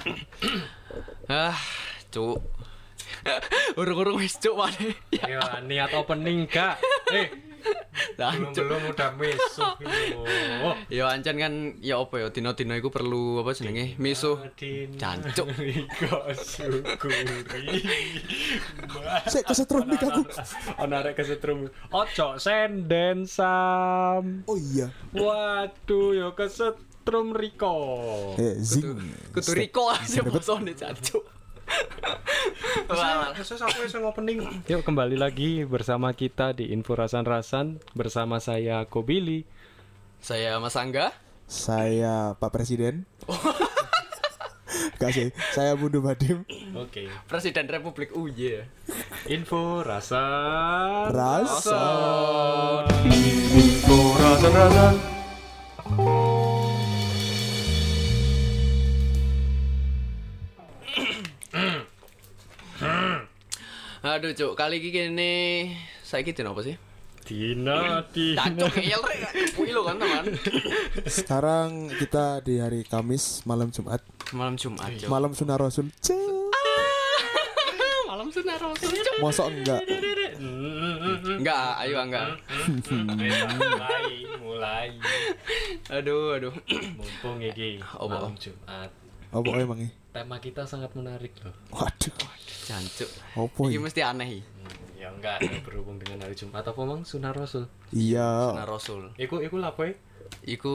Cuk. Urung-urung wis cuk wae. Ya niat opening gak? Belum udah misuh itu. Ya ancen kan ya apa ya dina-dina iku perlu apa jenenge misuh. Jancuk. Kok syukuri. Sik kesetrum iki aku. Ana arek kesetrum. Ojo senden Sam. Oh iya. Waduh ya kesetrum Riko. Zing. Kudu Riko aja bosone jancuk. Khusus aku yang opening. Yuk kembali lagi bersama kita di Info Rasan-Rasan bersama saya Kobili. Saya Mas Angga. Saya Pak Presiden. Kasih. Saya Bundu Badim. Oke. Presiden Republik UY. Info Rasan. Info Rasan. Aduh cuk, kali iki kene saiki dina apa sih? Dina. Jancuk ngeyel rek. Kuwi lho kan teman. Sekarang kita di hari Kamis, malam Jumat. Malam Jumat cuk. Malam Sunnah Rasul. Malam Sunnah Rasul cuk. Mosok enggak? Enggak, ayo enggak. Mulai. Aduh. Mumpung iki Apa? malam Jumat. Apa emang ini? Tema kita sangat menarik loh. Waduh. Jancuk. Apa Iki ini? mesti aneh. Ya enggak berhubung dengan hari Jumat apa Mang Sunnah Rasul. Iya. Sunnah Rasul. Iku apa ya? Iku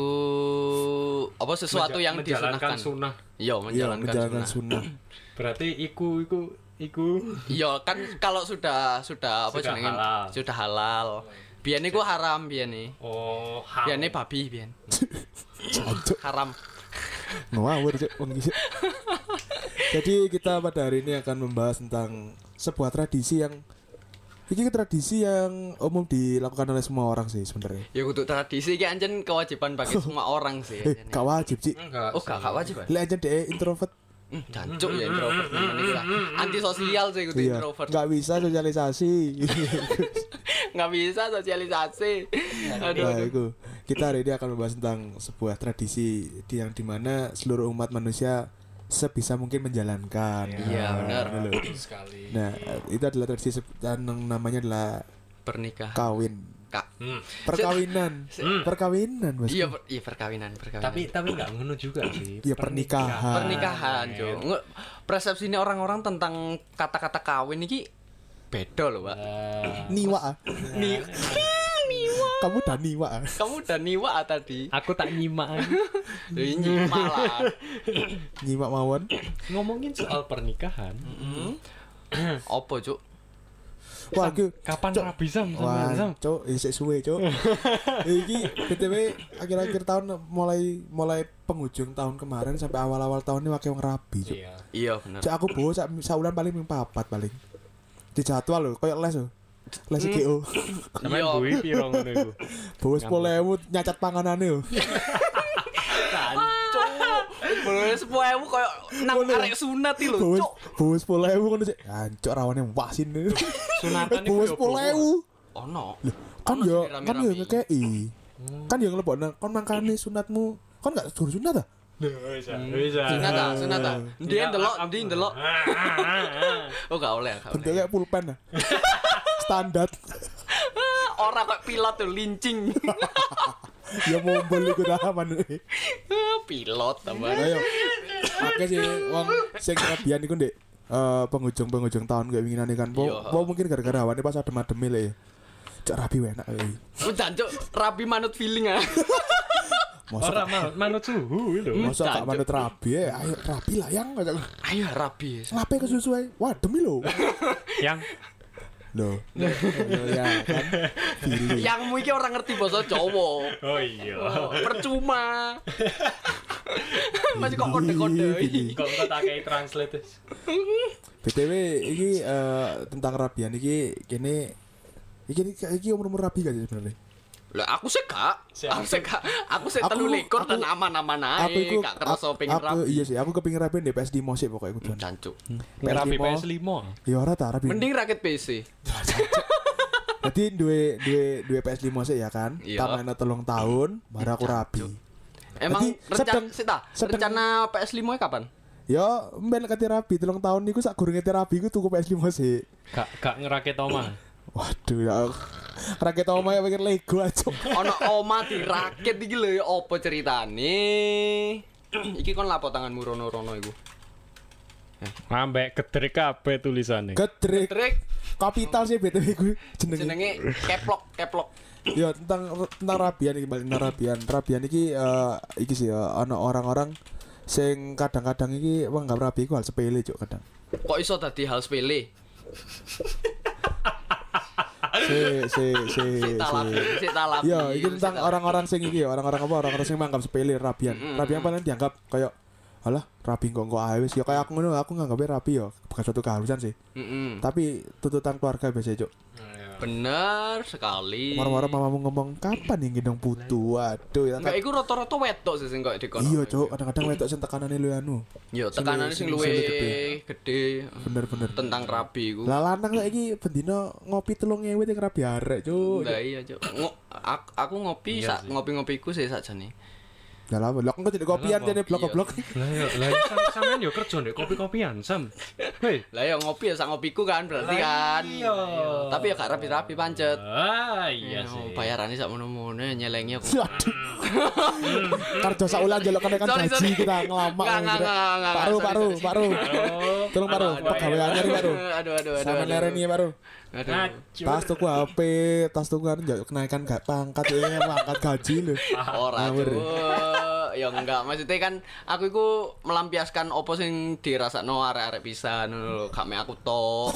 apa sesuatu yang menjalankan disunahkan. sunnah. Iya, Iya, menjalankan menjalankan sunnah. sunnah. Berarti iku Iya, kan kalau sudah apa Sudah jenenge? halal. Sudah halal. Biyen iku haram biyen. oh Biyen babi biyen. Jancuk. Haram. Ngawur cuk wong iki. Jadi kita pada hari ini akan membahas tentang sebuah tradisi yang tradisi yang umum dilakukan oleh semua orang sih sebenarnya. Ya kudu tradisi iki anjen kewajiban bagi semua orang sih. anjen. Gak wajib sih. enggak. Oh, gak wajib. Lek aja deh introvert. Jancuk ya introvert namanya iku lah. Antisosial sih kudu Iya. introvert. Gak bisa sosialisasi. Nggak bisa sosialisasi. Aduh. Nah, itu. Kita hari ini akan membahas tentang sebuah tradisi yang dimana seluruh umat manusia sebisa mungkin menjalankan. Iya, benar. Gitu loh. Sekali. Nah, itu adalah tradisi yang namanya adalah Pernikahan. kawin. Kak. Perkawinan. Perkawinan, Mas. Iya, perkawinan. Tapi enggak ngono juga sih. Iya, pernikahan. Pernikahan, Jo. Persepsinya orang-orang tentang kata-kata kawin iki beda loh, Pak. Niwa. Niwa. Kamu udah niwa. Kamu udah niwa tadi. Aku tak nyimak. Ya nyimak lah. Nyimak mawon. Ngomongin soal pernikahan. Apa, Cuk? Wah, Kapan Cuk. rabi Sam? Wah, Sam? cok, isek suwe, cok. Iki BTW akhir-akhir tahun mulai penghujung tahun kemarin sampai awal-awal tahun ini wae wong rabi, cok. Iya. Iya, bener. Cok aku boh saulan paling ping 4 paling. Di jadwal lho, koyo les lho. Les GO. Sampeyan Iya. bui piro ngono iku? Bawa 10.000 nyacat panganane lho. Cuk. Boleh 10.000 koyo nang arek sunat iki lho, Cuk. Bawa 10.000 ngono sik. Ancok rawane wasin. Sunatan Bawa iku yo 10.000. Ono. Kan Ono yo sing kan yo rame-rame. ngekei. Kan yo nglebokno kon mangkane sunatmu. Kon gak suruh sunat ta? Bisa. Sunata. Ndi ndelok. Oh, gak oleh. Bentuknya kayak pulpen. Standar. Ora kok pilot tuh lincing. Ya mombol iku ta aman. Pilot tambah. Ayo. Oke sih wong sing rabian iku Ndek. Penghujung tahun kayak winginane kan. Iya. Po mungkin gara-gara awane pas adem-adem le. Cak rabi enak iki. Jancuk rabi manut feeling ah. Ora manut suhu lho. Masa gak Jancuk. manut rabi ya. Ayo rabi layang. Ayo rabi. Ngapain kesusu ae? Wah, demi lo. Yang Loh. Ya kan. Pilih. Yangmu iki orang ngerti bahasa Jawa. oh iya. Percuma. Masih kok kode-kode. Kok tak kayak translate. BTW iki tentang rabian iki kene iki umur-umur rabi gak sih sebenarnya? Lah aku sih gak. Aku sih Aku- 23 dan aman-aman ae. Gak kerasa pengen aku rabi. iya sih, aku kepengin rabi di PS5 sih pokoknya kudu. Jancuk. Rabi PS5. PS5. Ya ora ta rabi. Mending rakit PC. Jadi duwe PS5 sih ya kan. Iya. Tamane 3 tahun baru aku rabi. Emang Jadi, sedang- rencana PS5 kapan? Ya, mben kate rabi 3 tahun niku sak gurunge terapi iku tuku PS5 sih. Gak ngerakit omah. Waduh ya. Rakit omah ya pikir Lego aja. Ono oma dirakit iki lho ya apa ceritane? Iki kon lapo tanganmu rono-rono iku. Ambek gedrek kabeh tulisane. Gedrek. Trik Kapital sih BTW iku jenenge. jenenge keplok. Ya tentang rabian iki balik rabian. Rabian iki iki sih ya ana orang-orang sing kadang-kadang iki nganggap rabi iku hal sepele cuk kadang. Kok iso dadi hal sepele? Si talap. Ya, iki tentang orang-orang sing iki orang-orang apa orang-orang sing menganggap sepele rabian. Rabian paling dianggap kayak alah rabi kok ae wis ya kayak aku ngono aku nganggapnya rabi ya bukan suatu keharusan sih. Tapi tuntutan keluarga biasa cuk. Bener sekali. Moro-moro mamamu ngomong kapan nih gendong putu. Waduh ya. Enggak iku rata-rata wedok sih sing kok dikono. Iya, Cuk, kadang-kadang wedok sing tekanane luwih anu. Yo tekanane sing luwih gede. Bener. Tentang rabi iku. Lah lanang saiki bendina ngopi 3.000 ting rabi arek, Cuk. Lah iya, Cuk. Aku ngopi sak ngopi-ngopiku sih sakjane. Lah lha kok jadi kopian jane blok-blok. Lah sampean yo kerja ndek kopi-kopian, Sam. Hei. Lah ya ngopi ya sak ngopiku kan berarti kan. Iya. Tapi ya gak rapi-rapi pancet. Iya sih. Bayarane sak mono-mono nyelengi aku. Waduh. Kerja saulan njaluk kenaikan gaji kita ngelamak. Pak Ru. Tolong Pak Ru, pegawai anyar Pak Ru. Aduh. Sama lereni Pak Ru. Aduh. Tas tuku HP, tas tuku kan njaluk kenaikan gak pangkat ya, pangkat gaji lho. Ora Cuk. Ya enggak, maksudnya kan aku iku melampiaskan opo sing dirasakno arek-arek pisan ngono lho, gak mek aku tok.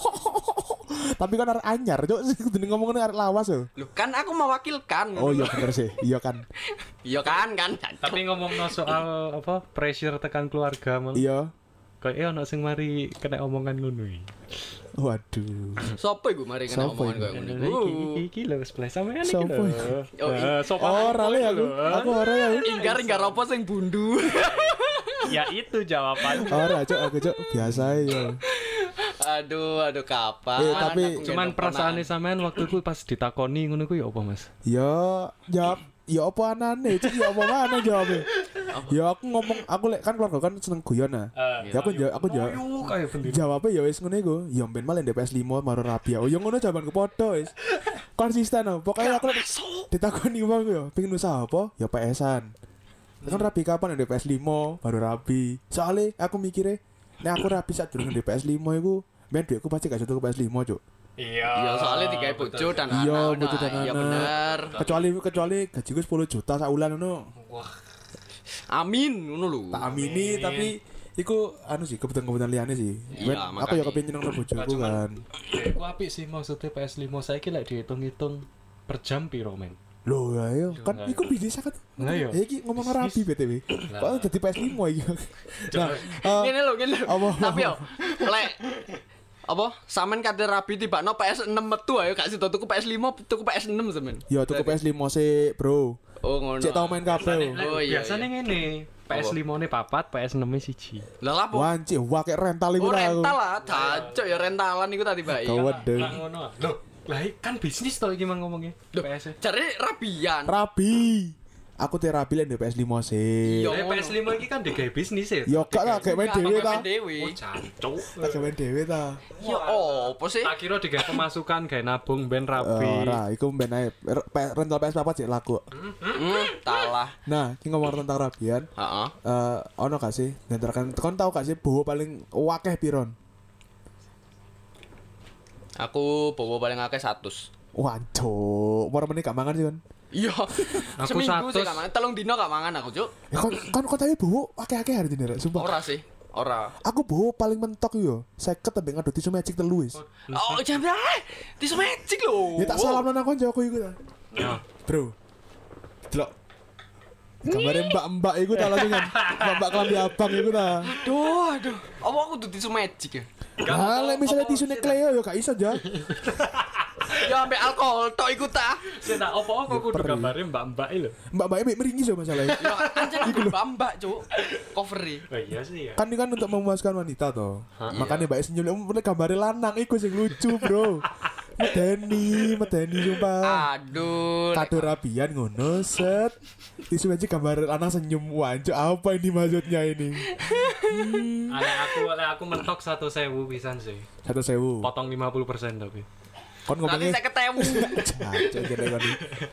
Tapi kan arek anyar, Cuk, kudu ngomong arek lawas lho. Lho kan aku mewakilkan. Oh iya bener sih, iya kan. Iya kan. Tapi ngomongno soal apa pressure tekan keluarga mau. Iya. Kayak ono sing mari kena omongan ngono iki. Waduh. Sopo iku mari kena Sopo omongan iku? koyo ngono. Iki lho sebelah sampean iki Sopo lho. Oh, Sopo Ora le aku. Aku ora ya. Inggar apa sing bundu. Ya itu jawaban. Ora, Cuk, aku Cuk biasa ya. Aduh kapan. Tapi aku Cuman gendong perasaane sampean waktu itu pas ditakoni ngono ku ya apa, Mas? ya jawab ya apa anane, Cuk, ya apa mana jawabnya. Ya aku ngomong aku lek kan keluarga kan seneng guyon nah. Ya aku jawab Kayak bener. jawabnya ya wis ngene iku. Ya ben malah DPS 5 baru rapi. Oh ya ngono jawabanku padha wis. Konsisten oh. Pokoknya aku ditakoni wong yo, pengen usaha apa? Ya PS-an. Kan rapi kapan ya DPS 5 baru rapi. Soalnya aku mikirnya nek aku rapi sak durung DPS 5 iku, ben duitku pasti gak cukup PS 5, Cuk. Iya, soalnya digawe bojo dan anak. Iya, bojo dan Iya anak. bener. Kecuali gajiku 10 juta sak wulan ngono. Amin ngono lho. Tak amini tapi iku anu sih kebutuhan liyane sih. Iya, Ben, aku ya makanya. kepengin nyenengno bojoku kan. Ku apik sih maksudnya PS5 saiki lek dihitung-hitung per jam piro, men? Loh ya ayo kan iku bisnis kan. Nah, iya. Iki ngomong rapi BTW. Kok dadi PS5 iki. Nah, Ngene lho. Apa? Tapi yo lek apa sampean kate rabi tibakno PS6 metu ayo gak sida tuku PS5 tuku PS6 sampean. ya tuku PS5 sih, Bro. Oh ngono. Cek tau main kabel. Oh iya. Biasane ngene, PS5 ne papat, PS6 ne siji. Lah lapo? Wanci, wah kayak rental iku Oh ta aku. rental lah, cacok ya rentalan iku tadi bae. Kawedeng. Lah ngono. Loh, lah kan bisnis to iki mang ngomongnya. Loh, PS. cari rabian. Rabi. Aku terapi lek PS5 sih. Iya. Lah PS5 iki kan digawe bisnis ya. Ya gak lah kayak main dhewe ta. Dewi. Cancuk. Kayak main dhewe ta. Ya opo sih? Tak kira digawe pemasukan gawe nabung ben rapi. Ora, iku ben ae rental PS4 sih laku. Talah. Nah, iki ngomong tentang rabian. Heeh. Ono gak sih ngentarkan kon tau gak sih bowo paling wakeh piron? Aku bawa paling akeh 100. Wancuk, moro meneh gak mangan sih kon. Iya. Aku Seminggu sih 100. gak mangan, 3 dino gak mangan aku, Cuk. Ya kon tapi bowo akeh-akeh hari ini rek, sumpah. Ora sih. Ora. Aku bowo paling mentok yo. 50 ambek ngadut tisu magic telu wis. Oh, jangan tisu magic lho. Ya tak salam nang kon jawabku iku ta. Ya. Bro. Delok. Gambarnya mbak-mbak iku ta langsung kan. Mbak-mbak kelambi abang iku ta. Aduh. Apa aku tuh tisu magic ya? Lah lek misalnya tisune Cleo yo gak iso ja. Ya ambek alkohol tok iku ta. Sik tak opo kok kudu Perih. gambare mbak-mbak lho. Mbak-mbak mek meringis yo masalahnya. Ya anjir iku mbak, Cuk. Cover-e. Oh iya sih ya. Kan ini kan untuk memuaskan wanita toh. Makanya Mbak senyum lek gambarnya lanang iku sing lucu, Bro. medeni sumpah. Aduh. Kado rabian ngono set. Tisu aja gambar anak senyum. Wancuk apa ini maksudnya ini? Aku mentok 1.000 pisan sih. 1.000. Potong 50% tapi. Kon Nanti ngomongnya saya ketemu. Cacok gede kon.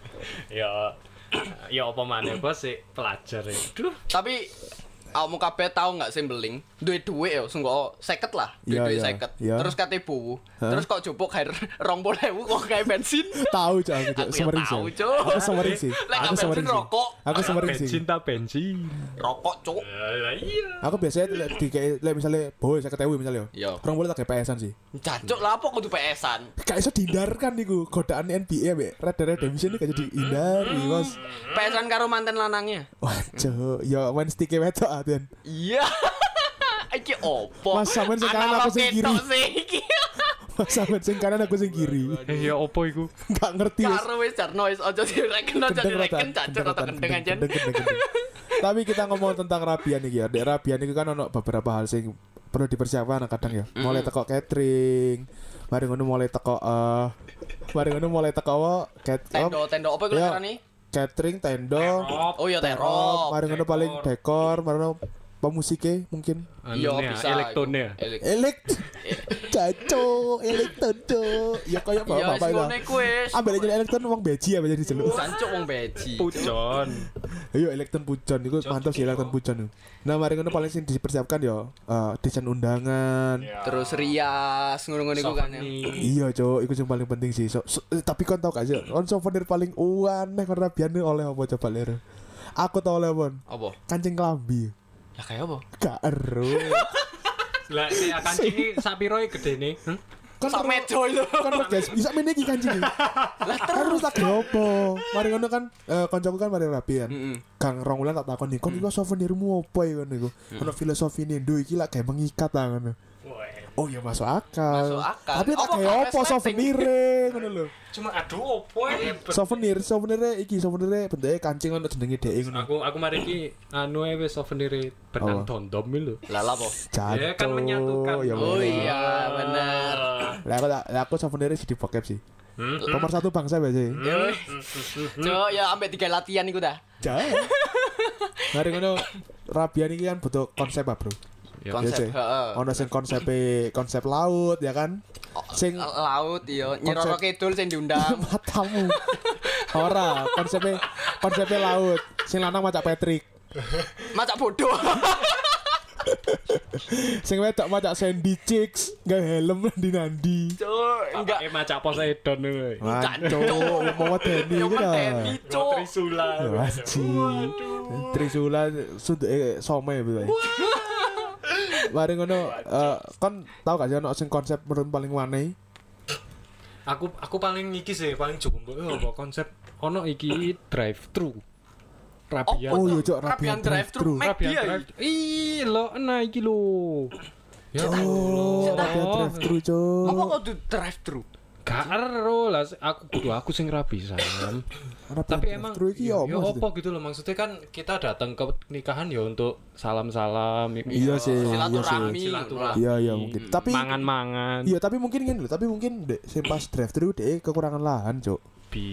Ya apa maneh bos sih pelajar ya. Duh. Tapi awakmu kabeh tau gak sing beling duwe dhuwit ya sengko 50 lah, duwe Iya, dhuwit iya, 50. iya. Terus kate bu. Terus kok jupuk air 20.000 kok kayak bensin. Tahu cok aku cok Aku ya semering tahu, sih. Cok. Aku semering sih. Lek Aku gak semering bensin sih. rokok. Aku semering sih. Bensin tak bensin. Rokok, Cuk. Iya. Aku biasanya di kayak misalnya boy saya ketemu misalnya Iya. orang boleh tak PS-an sih. Cacuk lah apa kudu PS-an. Gak iso dihindarkan niku godaan NBA mbek Red Dead Redemption ini gak jadi dihindari bos. PS-an karo manten lanangnya. Wah cok ya main stick wedok atian. Iya. Iki opo? Mas, sampean sing kanan, aku sing kiri. Analog ketok sih iki. Sampai sing kanan aku sing kiri. Ya opo iku? Gak ngerti wis. Karo wis jar noise aja direken aja direken cacuk atau kendeng aja. Tapi kita ngomong tentang rabian iki ya. Dek rabian iki kan ono beberapa hal sing perlu dipersiapkan kadang ya. Mulai teko catering, mari ngono mulai teko Tendo apa iku Ya. carane? catering, tendo, Oh iya terop, terop. mari ngono paling dekor, mari ngono pemusike mungkin. Iya Anunya, bisa. elektonnya. Caco, elektron cok. Ya kayak Iya bapak sing itu. ngene ku wis. Ambil aja elektron wong beji apa jadi celuk. Sancuk wong beji. Pucon. Ayo elektron pucon iku mantap sih elektron pucon. Nah, mari ngono paling sing dipersiapkan ya desain undangan. Terus rias ngono-ngono iku kan. Ya. Iya, cok, iku sing paling penting sih. Tapi kon tau gak sih, kon souvenir paling aneh kon rabiane oleh apa coba ler. Aku tau oleh apa? Apa? Kancing klambi. Ya kayak apa? Gak ero. Lah si kancingi sapiro gedene? Kan Sak meja itu. kan guys, bisa meneh iki kancing. Lah terus tak opo? Mari ngono kan kancaku kan mari rapi kan. Kang rong wulan tak takon nih, kon iku souvenirmu opo ya ngono iku? Ono filosofine ndo iki lak gawe mengikat ta ngono. Oh ya masuk akal. Masuk akal. Tapi tak Apa kayak gak opo resleting? souvenire ngono lho. Cuma aduh opo Souvenirnya bentuknya kancing ono jenenge dhek ngono. Aku mari iki anu wis souvenir benang dondom lho. Lah apa? Ya kan menyatukan. Ya, Oh bener. iya benar. Lah aku souvenirnya di bokep sih. Nomor satu bangsa biasa. Ya wis. Cuk ya ambek 3 latihan iku dah. Jangan. Mari ngono rabian iki kan butuh konsep apa, Bro? Ya. Konsep, Biasa. heeh. Ono sing konsep laut ya kan? Sing Laut iya, Nyiroro Kidul sing diundang. matamu. Ora, konsepnya laut. Sing lanang macak Patrick. Macak bodoh. Sing wedok macak Sandy Chicks, gak helm nandi. Cuk, enggak. Macak Poseidon kuwi. Wancuk, mau wedeni Yo iki ta. medeni, Cuk. Trisula. Waji. Trisula sunduke some betul. Mari ngono kan tau gak sih ono sing konsep menurut paling aneh? Aku paling iki sih, paling cukup apa konsep ono iki drive thru. Rabian. Oh iya, Cok, Rabian drive-thru. drive-thru. McD ya. Ih, lo enak iki lho. Ya Oh, rabian drive-thru, Cok. Apa kudu drive-thru? Gak ero lah aku sing rabisan. Tapi emang drive-thru iki ya ya apa apa gitu loh, maksudnya kan kita datang ke nikahan ya untuk salam-salam. Iya sih, Silaturahmi. Iya mungkin. Tapi mangan-mangan. iya, tapi mungkin gini loh, tapi mungkin dek sing pas drive-thru dek kekurangan lahan, Cok.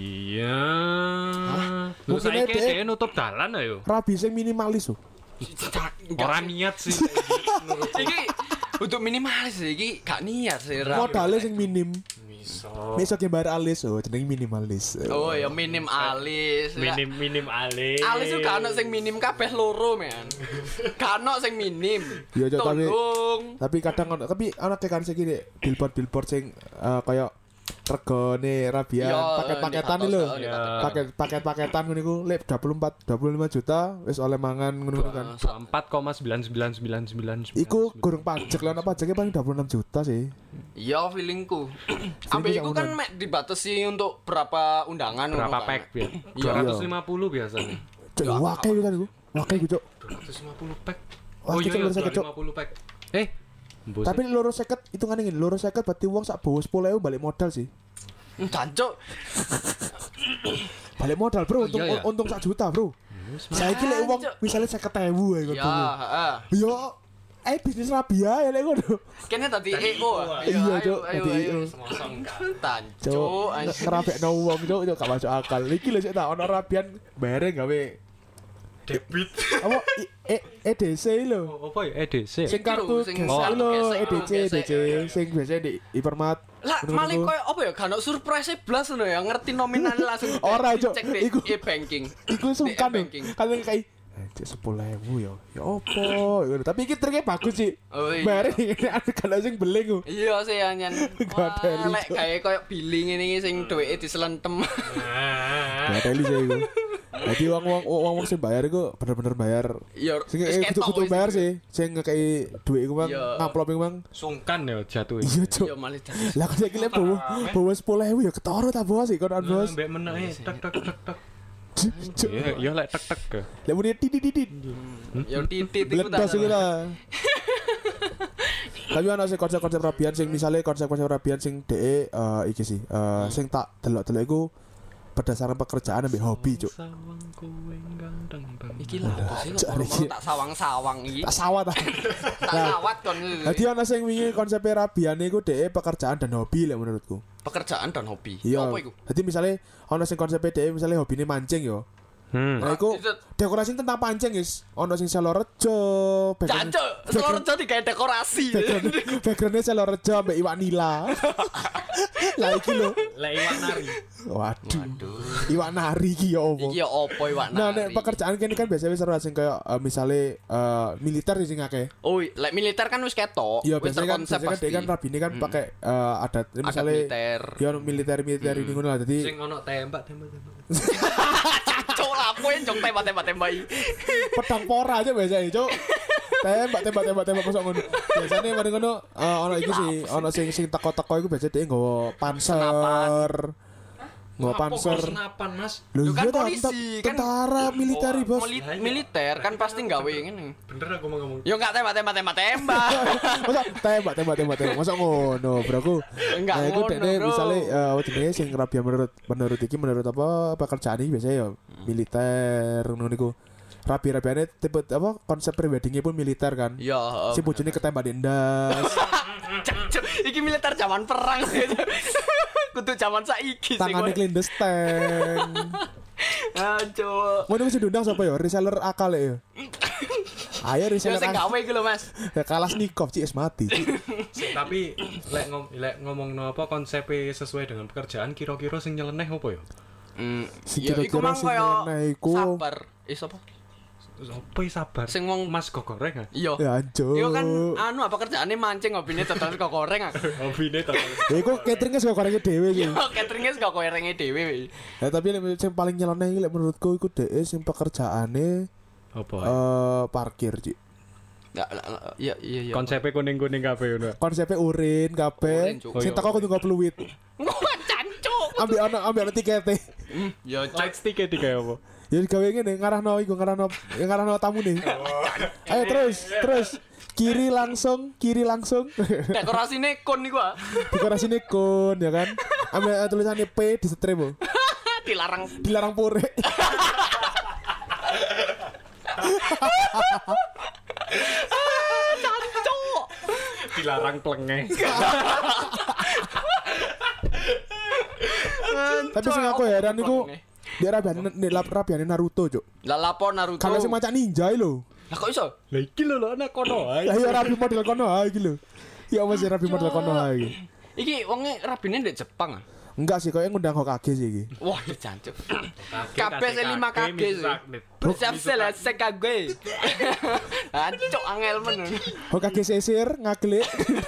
Biar. Lu Mungkin saiki dek- dhewe nutup dalan ayo. Rabi sing minimalis loh. Ora niat sih. Iki untuk minimalis iki gak niat sih. Modalnya sing minim. Miso. Besok gambar alis jenenge minimalis. Oh ya minim alis. Minim alis. Alis itu gak ono sing minim kabeh loro, men. Gak ono sing minim. Iya, Cok, Tolong. tapi kadang tapi ana kan sing gini billboard sing kayak regane rabian Iya, paket-paketan di lho. atas, di atas. Paket-paketan ngono iku lek 25 juta wis oleh mangan ngono kan. 4,99999. Iku gurung pajak lan pajaknya paling 26 juta sih. Iya feelingku. Ambek iku kan mek dibatasi untuk berapa undangan berapa ngono kan. pack biar? Iya. 250 biasanya. Cok, wakai kan iku. Wakai iku, Cok. 250 pack. Wah, Oh iya, kita lurus sakit, Cok. 250 pack. Mbus. Tapi loro 50 hitungane ngene, loro 50 berarti wong sak bawa 10.000 balik modal sih. Jancuk. Balik modal, Bro. Untung iya ya. untung 1 juta, Bro. Saiki lek wong Cok. misalnya 50.000 ae Ya, kon. heeh. Yo bisnis rabia ya nek ngono. Kene tadi EO. Iya, Cuk, ayo. tadi EO. Semosong kan. Tancuk. Ngerabekno wong Cuk, gak masuk akal. Iki lho sik tak ono rabian bayare gawe Debit. apa EDC lho. Apa ya EDC? Sing kartu Sing gesek lho, gesek, EDC sing biasa di Hypermart. Lah malah koyo apa ya gak ono surprise blas ngono ya ngerti nominalnya langsung Ora, Cuk. cek di Iku- e-banking. Iku sungkan lho. e-banking. Kan kayak cek 10.000 ya. Ya opo? Tapi iki triknya bagus sih. Oh, iya. Bayare ada kalau sing beling ku. Iya sih anyen. Gak ada Wah, lek lucu. kayak koyo billing ini sing duweke diselentem. Gak teli sih iku. Jadi wong sing bayar iku bener-bener bayar. Ya Sing wis ketok kudu wis. bayar sih. Sing ngekei duit iku Bang, Iya. ngamplop iku Bang. Sungkan ya jatuh. Iya, Cuk. Iya malah jadi. Lah kok saiki lek bawa 10.000 ya ketara ta bos iki kon bos. Mbek meneh tek tek tek tek. Cuk. Iya lek tek tek ke. Lah muni titit. Ya titit iku Bledos iku lah. Tapi ana sing konsep-konsep rabian sing misale konsep-konsep rabian sing DE iki sih sing tak delok-delok iku berdasarkan pekerjaan ambek hobi, Cuk. Sawang kowe ganteng banget. Iki lah sih Cuk, kok iki. tak sawang-sawang iki. Tak sawat ta. Tak sawat kon. Dadi ana sing wingi konsep rabian iku DE pekerjaan dan hobi lek menurutku. Pekerjaan dan hobi. Iya. Apa iku? Dadi misale ana sing konsep DE misale hobine mancing yo. Nah, iku dekorasi tentang pancing, guys. Ono sing Salorejo, Cancuk, Salorejo digawe dekorasi. backgroundnya Salorejo ambek iwak nila. Lah iki lho. Lek iwak nari. Waduh. Iwak nari iki ya opo? Iki ya opo iwak Nah, nari. nek pekerjaan kene kan biasanya wis ora sing kaya misale militer sing akeh. Oh, lek militer kan wis ketok. Iya, Wis biasanya kan terkonsep dia kan rabine kan pakai adat misale militer. ya militer ini ngono lah. Dadi Sing ono tembak. Cuk lah kowe jong tembak-tembak. pedang pora aja biasanya, Cuk. Tembak kosong ngono. Biasane mari ngono ono iki sih, ono sing teko-teko iku biasanya dia nggawa panser. Nggawa panser. Senapan, Mas. Lho Kan iya ta, polisi, kan- tentara militer bos. Militer kan pasti gawe ngene. Bener aku mau ngomong. Yo enggak tembak. Masa tembak. Masa ngono, Bro. Enggak Nah, iku ngono, dekne Bro. misale jenenge sing rabian menurut iki menurut apa pekerjaan iki biasanya ya militer ngono niku. Rabi-rabiane tipe apa konsep preweddingnya pun militer kan. Ya, Si bojone ketembak di ndas. Cuk, iki militer zaman perang. Kudu zaman saiki sih. Tangane klindes tank. Cuk. Ngono wis diundang sapa ya? Reseller akal ya. Ayo Yo reseller sing akal. gawe iki lho, Mas. Kalashnikov Cik wis mati. Cik. Tapi lek ngomongno apa konsepnya sesuai dengan pekerjaan kira-kira sing nyeleneh apa ya? Sing Ya iku kira-kira mang sing koyo nyeleneh iku. sabar. Sapa? Apa ya sabar? Sing wong Mas Gogoreng ah. iya. Ya anjur. Yo kan anu apa kerjaane mancing hobine dodol kok goreng aku. Hobine to. Ya iku cateringnya sego gorengnya dhewe iki. Yo cateringnya sego gorenge dhewe. Ya tapi sing paling nyeleneh iki lek menurutku iku dhek sing pekerjaane Apa? parkir, Cik. Iya. Konsepnya kuning-kuning kabeh ngono. Konsepnya urin kabeh. Urin, Cuk. Sing teko kudu nggo peluit. Wah, cancuk. Ambil tikete. Yo Light stick e kayak apa? Ya digawe ngene ngarahno tamune. Ayo terus. Kiri langsung. dekorasine kon niku ah. Dekorasine kun ya kan. Ambil tulisannya P di strip. Dilarang Pure. cancuk. Dilarang plenge. Tapi sing aku heran niku dia rabiane Naruto, Cuk. Lah lapo Naruto. Kalau sing maca ninja lho. Lah kok iso? Lah iki lho anak kono ae. Lah ya rabi model kono ae iki lho. Ya masih rabi model kono ae iki. Iki wonge rabine ndek Jepang ah. Enggak sih, kayaknya ngundang Hokage sih iki. Wah, jancuk. Kabeh sing 5 kage sih. Bersiap-siap lah sekage. Ancuk angel men. Hokage sisir ngagelik.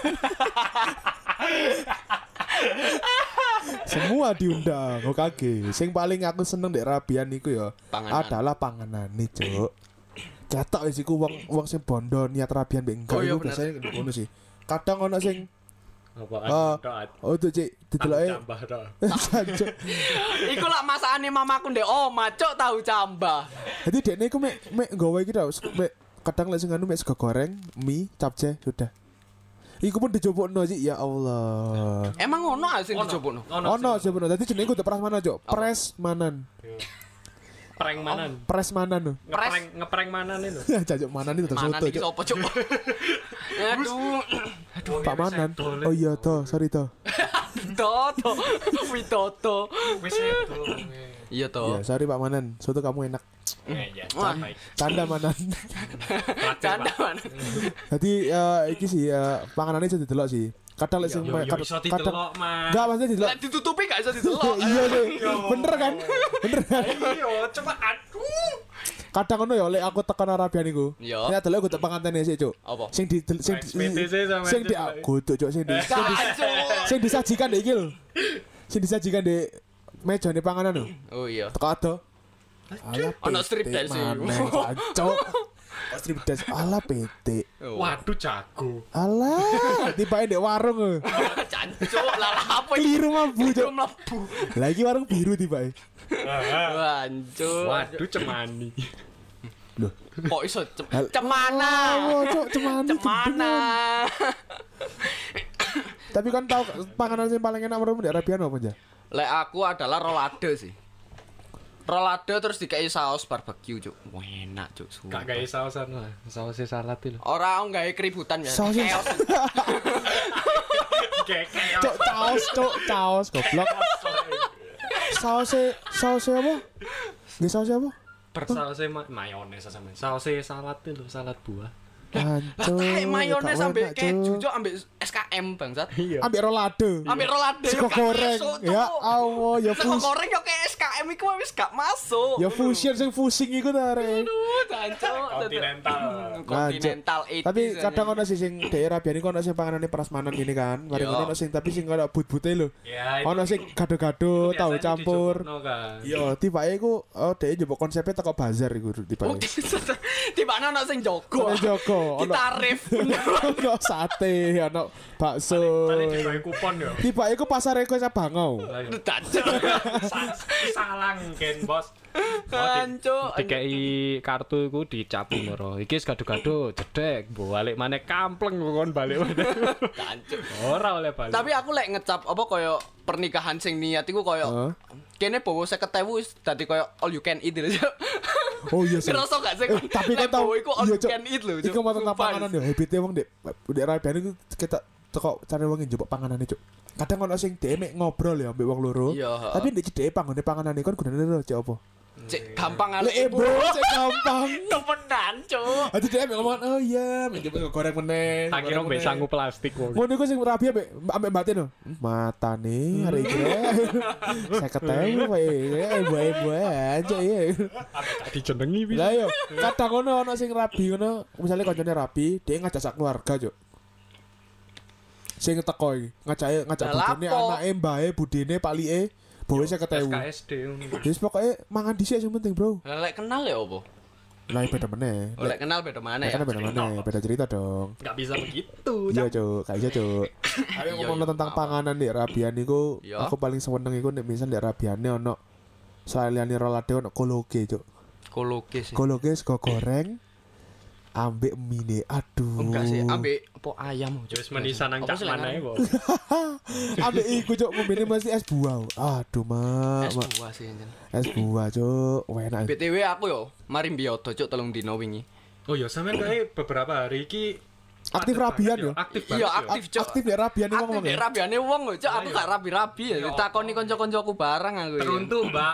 Semua diundang Hokage. Sing paling aku seneng dek rabian iku ya Panganan. adalah panganane, Cuk. Ketok wis iku wong sing bondo niat rabian mbek enggak Oh, iya, iku bener. biasanya ngono sih. Kadang ono sing Apaan? oh tuh Cik dideloke Tambah tok. Jancuk. Iku lak masakane mamaku ndek omah, Cuk, tahu cambah. Jadi dekne iku mek nggawe iki tau, mek kadang lek sing anu mek sego goreng, mie, capce, sudah. Iku pun dijopokno sih, ya Allah. Emang ono sing dijopokno? Ono sebenarnya. Dadi jenenge kudu prasmanan, Cuk. Prasmanan. Prank manan. Pres manan lho. Ngeprank manan itu. Jajuk manan itu terus Manan soto, iki Cuk. sapa, Cuk? Aduh. Pak Manan. Oh iya toh, sorry toh. Toto. Witoto. Wis itu. Iya toh. Iya, sorry Pak Manan. Soto kamu enak. Ya, Wah. baik. Canda Manan. Canda mana? Jadi iki sih panganane iso didelok sih. Kadang lek sing Yo iso didelok, Mas. enggak maksudnya didelok. Lek ditutupi gak iso didelok. Iya sih. Bener kan? Bener kan? Iya, coba aduh. Kadang ngono ya lek aku tekan Arabian iku. Iya. Nek delok aku tak pangantene sik, Cuk. Apa? Sing di sing di kudu, Cuk, sing disajikan iki lho. Sing disajikan di meja di panganan lho. Oh iya. Teko ado. Alah, Ono strip PT dance sih. maneh, Cuk. Strip dance ala PT. Waduh jago. Alah, tibake ndek warung. Cancuk lah apa iki? Keliru mabu, Cuk. Mlebu. Lagi warung biru tibake. Wancuk. Waduh cemani. Loh, Kok iso cemana? Oh, Cuk, cemani. Cemana? Tapi kan tahu panganan yang paling enak menurutmu di Arabian apa aja? Lek aku adalah rolade sih. Rolade terus dikai saus barbecue, Cuk. Wah, enak, Cuk. Gak gawe sausan lah. Sausnya salad itu. Ora nggawe keributan ya. Sausnya- Chaos. Kayak Cuk, caos, goblok. Sausnya apa? Nggih sausnya apa? sausnya mayones sama. Sausnya salad itu, salad buah. Hancur. Mayones gak sampai enak, keju, Cuk. Cuk, ambek SKM bangsat. Iya. Ambek rolade. Ambek rolade Sego gak goreng. masuk, Ya Cuk. Allah, ya Sego fusion. goreng yo kayak SKM iku wis gak masuk. Ya fusion sing pusing iku ta arek. Aduh, jancuk. Kontinental. Kontinental 80s. Tapi kadang ono sih sing daerah biyen iku ono sing panganane prasmanan gini kan. Mari Yo. ngono ono sing tapi sing koyo but-bute lho. Ya, itu Ono sing gado-gado, tahu campur. Kan. Yo, tibake iku dhek njupuk konsepnya teko bazar iku Oh, tibake. tiba-tiba ono sing jago. Ono Joko, ono Ditarif. ono sate, ono bakso. Tadi dibayar kupon ya. Tibake iku pasare kowe Sabangau. Jancuk. Salang Ken bos. Jancuk. Dikei kartu iku dicapu loro. Iki wis gado-gado jedek, balik maneh kampleng kon balik maneh. Jancuk. Ora oleh balik. Tapi aku lek ngecap apa koyo pernikahan sing niat iku koyo kene bawa 50.000 wis dadi koyo all you can eat lho. Cuk. Oh iya sih. Ngerasa gak sih? Tapi lek kan tau bawa iku all iya, you Cuk. can eat lho. Cuk. Iku mau tentang Sumpah. panganan yo, habite wong ndek Arabian iku kita teko cari wong njupuk panganane, Cuk. Kadang ono sing dhek mek ngobrol ya ambek wong loro. Iya, heeh. Tapi ndek cedeke panggone panganane kon gunane lho, Cuk apa? Cek gampang Lek ale ebo cek gampang. temenan, Cuk. Ati dhek mek ngomong, "Oh iya, mek njupuk goreng meneh." tak kira mbek sangu plastik wong. Ngono iku sing rabi ambek batin lho. Matane hari iki. 50.000 wae. Ibu-ibu aja ya. Tak dijenengi bisa. Lah yo, kadang ono sing rabi ngono, misale kancane rabi, dia ngajak sak keluarga, Cuk. Sing teko iki, ngajak Lah, budine, lapo? anake, mbahe, budine, palike, bawa 50.000. SKSD ngono. Wis pokoke mangan dhisik sing penting, Bro. Lah lek kenal ya opo? Lah beda meneh. Oh, lek kenal beda mana Kan ya? beda meneh, beda cerita dong. Enggak bisa begitu. Iya, Cuk, kayak iso, Cuk. Ayo Iya, ngomong iya, tentang apa? panganan di Arabian niku, Iya. aku paling seneng iku nek misal di Arabiane ono saliyane rolade ono kologe, Cuk. Kologe sih. Kologe sego goreng ambek mie. Aduh. Enggak sih, ambek apa ayam. Cuk. Wis menisan nang Apa cak sih lek manae ngarep? kok. Ambek iku, Cuk, mobilnya mesti es buah. Aduh, Es Mak. buah sih anjen. Es buah, Cuk. Enak. BTW aku yo mari mbiyoto Cuk 3 dino wingi. Oh iya, sampean kae beberapa hari iki Aktif padet rabian banget yo. Aktif banget. Iya, yo. aktif, Cuk. Aktif di Arabian niku Aktif ngomong. dek ya? rabiane wong lho, Cuk. Aku Ayo. gak rabi-rabi ya. Iya. Ditakoni kanca-kancaku bareng aku. ya. Teruntuk, Mbak.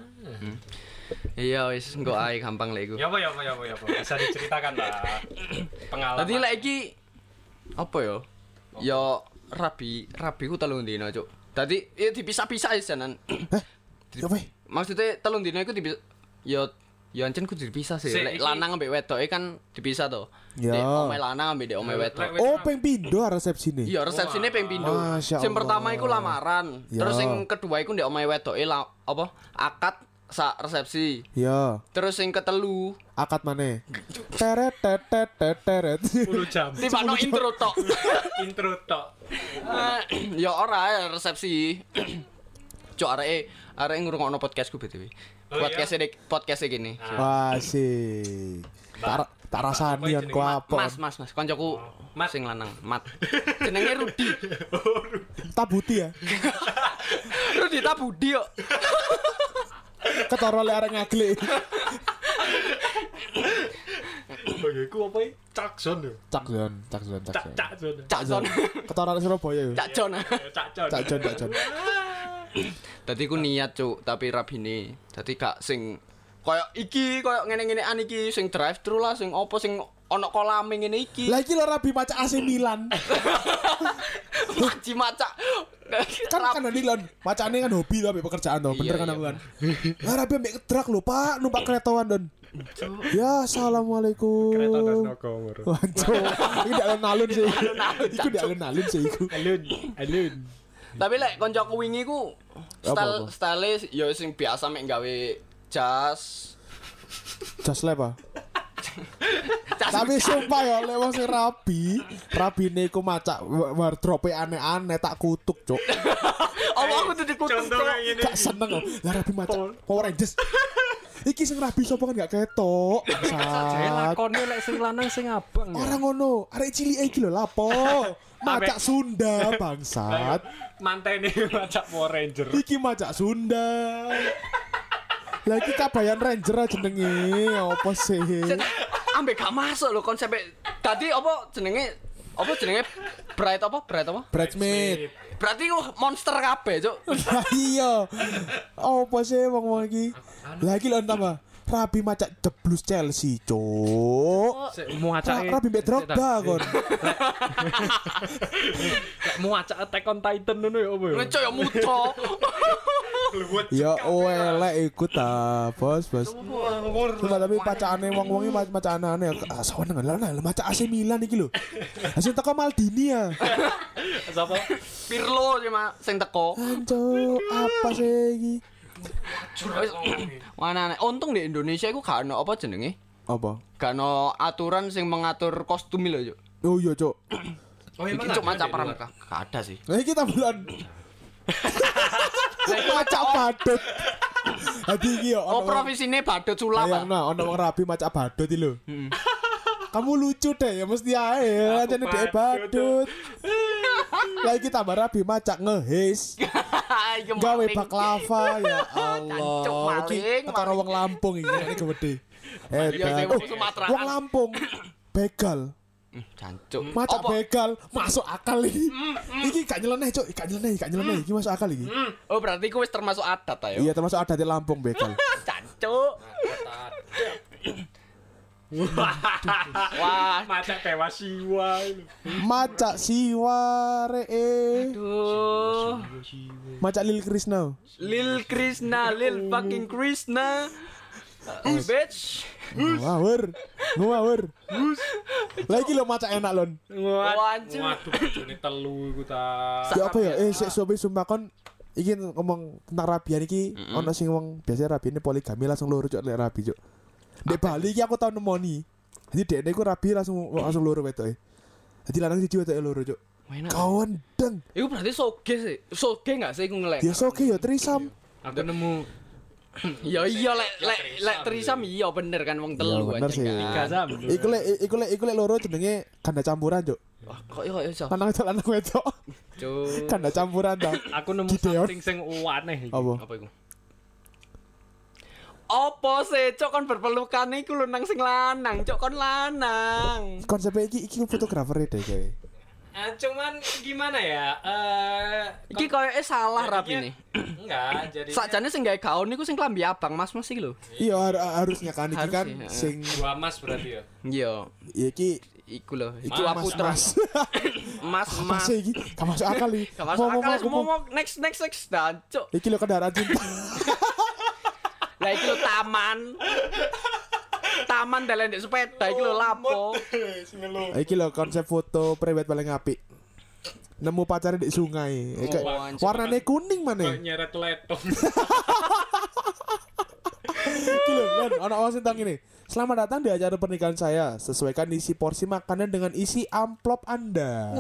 Iya wis engko ae gampang lek iku. Ya apa. Bisa diceritakan lah. Pengalaman. Tadi lek iki apa ya? Ya rabi ku 3 dino, Cuk. Dadi ya dipisah-pisah ya janan. Ya weh. Maksudnya 3 dino iku dipisah ya ancen kudu dipisah sih. Sik, Lek iki- lanang ambek wedoke kan dipisah to. Ya. Dek omahe lanang ambek dek omahe wedok. Lek- Oh, peng pindo resepsine. Iya, resepsine ping pindho. Masya Sing Allah. pertama iku lamaran, Ya. terus sing kedua iku ndek omahe wedoke apa? Akad sak resepsi. Ya, Terus sing ketelu, akad maneh. Teret teret teret teret. 10 jam. tibano intro tok. Intro tok. Ya ora resepsi. Cuk arek ngrungokno podcastku BTW. Oh, Podcast gini. Wah, sih. Tak rasani yon ku apa. Mas, koncoku Mas. sing lanang, Mat. Jenenge Rudi. Tabuti ya. Rudi Tabudi kok. Ketara lek arek ngagle. Bagiku apa iki? Cakson yo. Cakson. Cakson. Ketara lek Surabaya yo. Cak Jon. Cakson. Dadi ku niat cuk, tapi rabine. Dadi gak sing koyo iki, koyo ngene-ngenean iki sing drive thru lah, sing opo sing ono kolame ngene iki. Lah iki lho rabi macak AC Milan. Waji macak. Kan Milan, macane kan hobi lah pekerjaan to, bener Iya, kan iya, aku kan. Lah rabi ambek truk lho, Pak, numpak keretoan Don. Ya, assalamualaikum. Kereta Dasnoko umur. Wancuk, iki ndak alun-alun sih. Iku ndak alun-alun sih iku. Alun. Tapi lek koncoku wingi ku Apa? style ya sing biasa mek gawe jas. Just lab ah. Jas Tapi sumpah ya lek wong sing rabine iku macak wardrobe aneh-aneh tak kutuk, Cuk. apa aku tuh dikutuk. Contohnya ngene. Gak seneng kok. Lah rabi macak Power Rangers. Iki sing rabi sapa kan gak ketok. Saya Bangsat. lakone lek sing lanang sing abang ya. Orang ngono, arek cilik iki lho lapo. Macak Sunda bangsat. Mantene macak Power Ranger. Iki macak Sunda. Lagi Kabayan Ranger aja jenenge apa sih? Ambek gak masuk lho konsep. Tadi apa jenenge? Apa jenenge? Bright apa? Bridesmaid. Berarti ku monster kabeh, Cuk. Lah iya. Apa sih wong-wong iki? Lagi lho tambah. Rabi macak jeblus Chelsea, Cuk. Muacake. Rabi mbek Drogba kon. Muacake Attack on Titan ngono ya apa ya? Ngecok ya muco. Ya elek iku ta, Bos. Sumpah tapi pacane wong-wong iki macak aneh-aneh. Saweneng lah macak AC Milan iki lho. Hasil teko Maldini ya. Sapa? Pirlo sing teko. Anco, apa sih iki? Mana untung di Indonesia iku gak ono apa jenenge? Apa? Gak ono aturan sing mengatur kostum lho, Cuk. Oh iya, Cuk. Iki cuk macak pramuka. Gak ada sih. Lah iki ta bulan. Macak badut. Hadi iki yo Oh, profesine badut sulap. Ayang nah, ono wong rabi macak badut iki lho. Kamu lucu deh ya mesti ae ajane dhek badut. Lah iki tambah rabi macak ngehes. Gawe baklava ya Allah. Jancuk, maling, Iki karo wong Lampung iki nek gede. Iya, sing wong Sumatera. Wong Lampung. Begal. Jancuk. Macak begal masuk akal iki. Iki gak nyeleneh, Cuk. Gak nyeleneh. Iki masuk akal iki. Oh, berarti ku wis termasuk adat ta yo. Iya, termasuk adat di Lampung begal. Jancuk. Wah, Macak tewas siwa. Macak siware. duh. Macak Lil Krishna. Lil Krishna, Lil fucking Krishna. Bitch. Ngawur. Lagi lo macak enak lon. Wancuk. Waduh, bojone telu iku ta. Ya apa ya? Sik sumpah kon iki ngomong tentang rabian iki ono sing wong biasa rabiane poligami langsung loro cuk lek rabi cuk. Dek Bali iki aku tau nemoni. Jadi dekne iku rabi langsung loro wetoke. Jadi lanang siji wetoke loro cuk. Kawan deng. Iku berarti soge sih. Soge enggak sih iku ngelek? Ya soke ya trisam. Aku nemu Ya iya lek trisam iya bener kan wong telu bener sih. tiga jam. Iku lek loro jenenge ganda campuran cuk. Wah, kok iso. Lanang wedok. Cuk. Ganda campuran ta. Aku nemu Gideon. something sing aneh iki. Apa? Apa iku? Apa sih cok kon berpelukan iku lho nang sing lanang, cok kon lanang. Konsepnya iki fotografer deh kayak. Cuman gimana ya? Iki koyoke salah rapi nih. Enggak, jadi Sakjane sing gawe gaun niku sing klambi abang Mas iki lho. Iya harusnya kan iki kan Harusnya, sing dua mas berarti ya. Iya, ya iki iku lho. Iku Mas, aku terus. Mas. apa sih iki? Gak masuk akal iki. Gak masuk akal ngomong next dan cok. Iki lho kendaraan cinta. Lah iki lho taman dalan ndek sepeda iki lho lapo. Iki lho konsep foto prewed paling apik. Nemu pacarnya di sungai. Kayak warnanya kuning mana? Kayak nyeret letong. Iki lho kan ana orang tentang ini. Selamat datang di acara pernikahan saya. Sesuaikan isi porsi makanan dengan isi amplop Anda.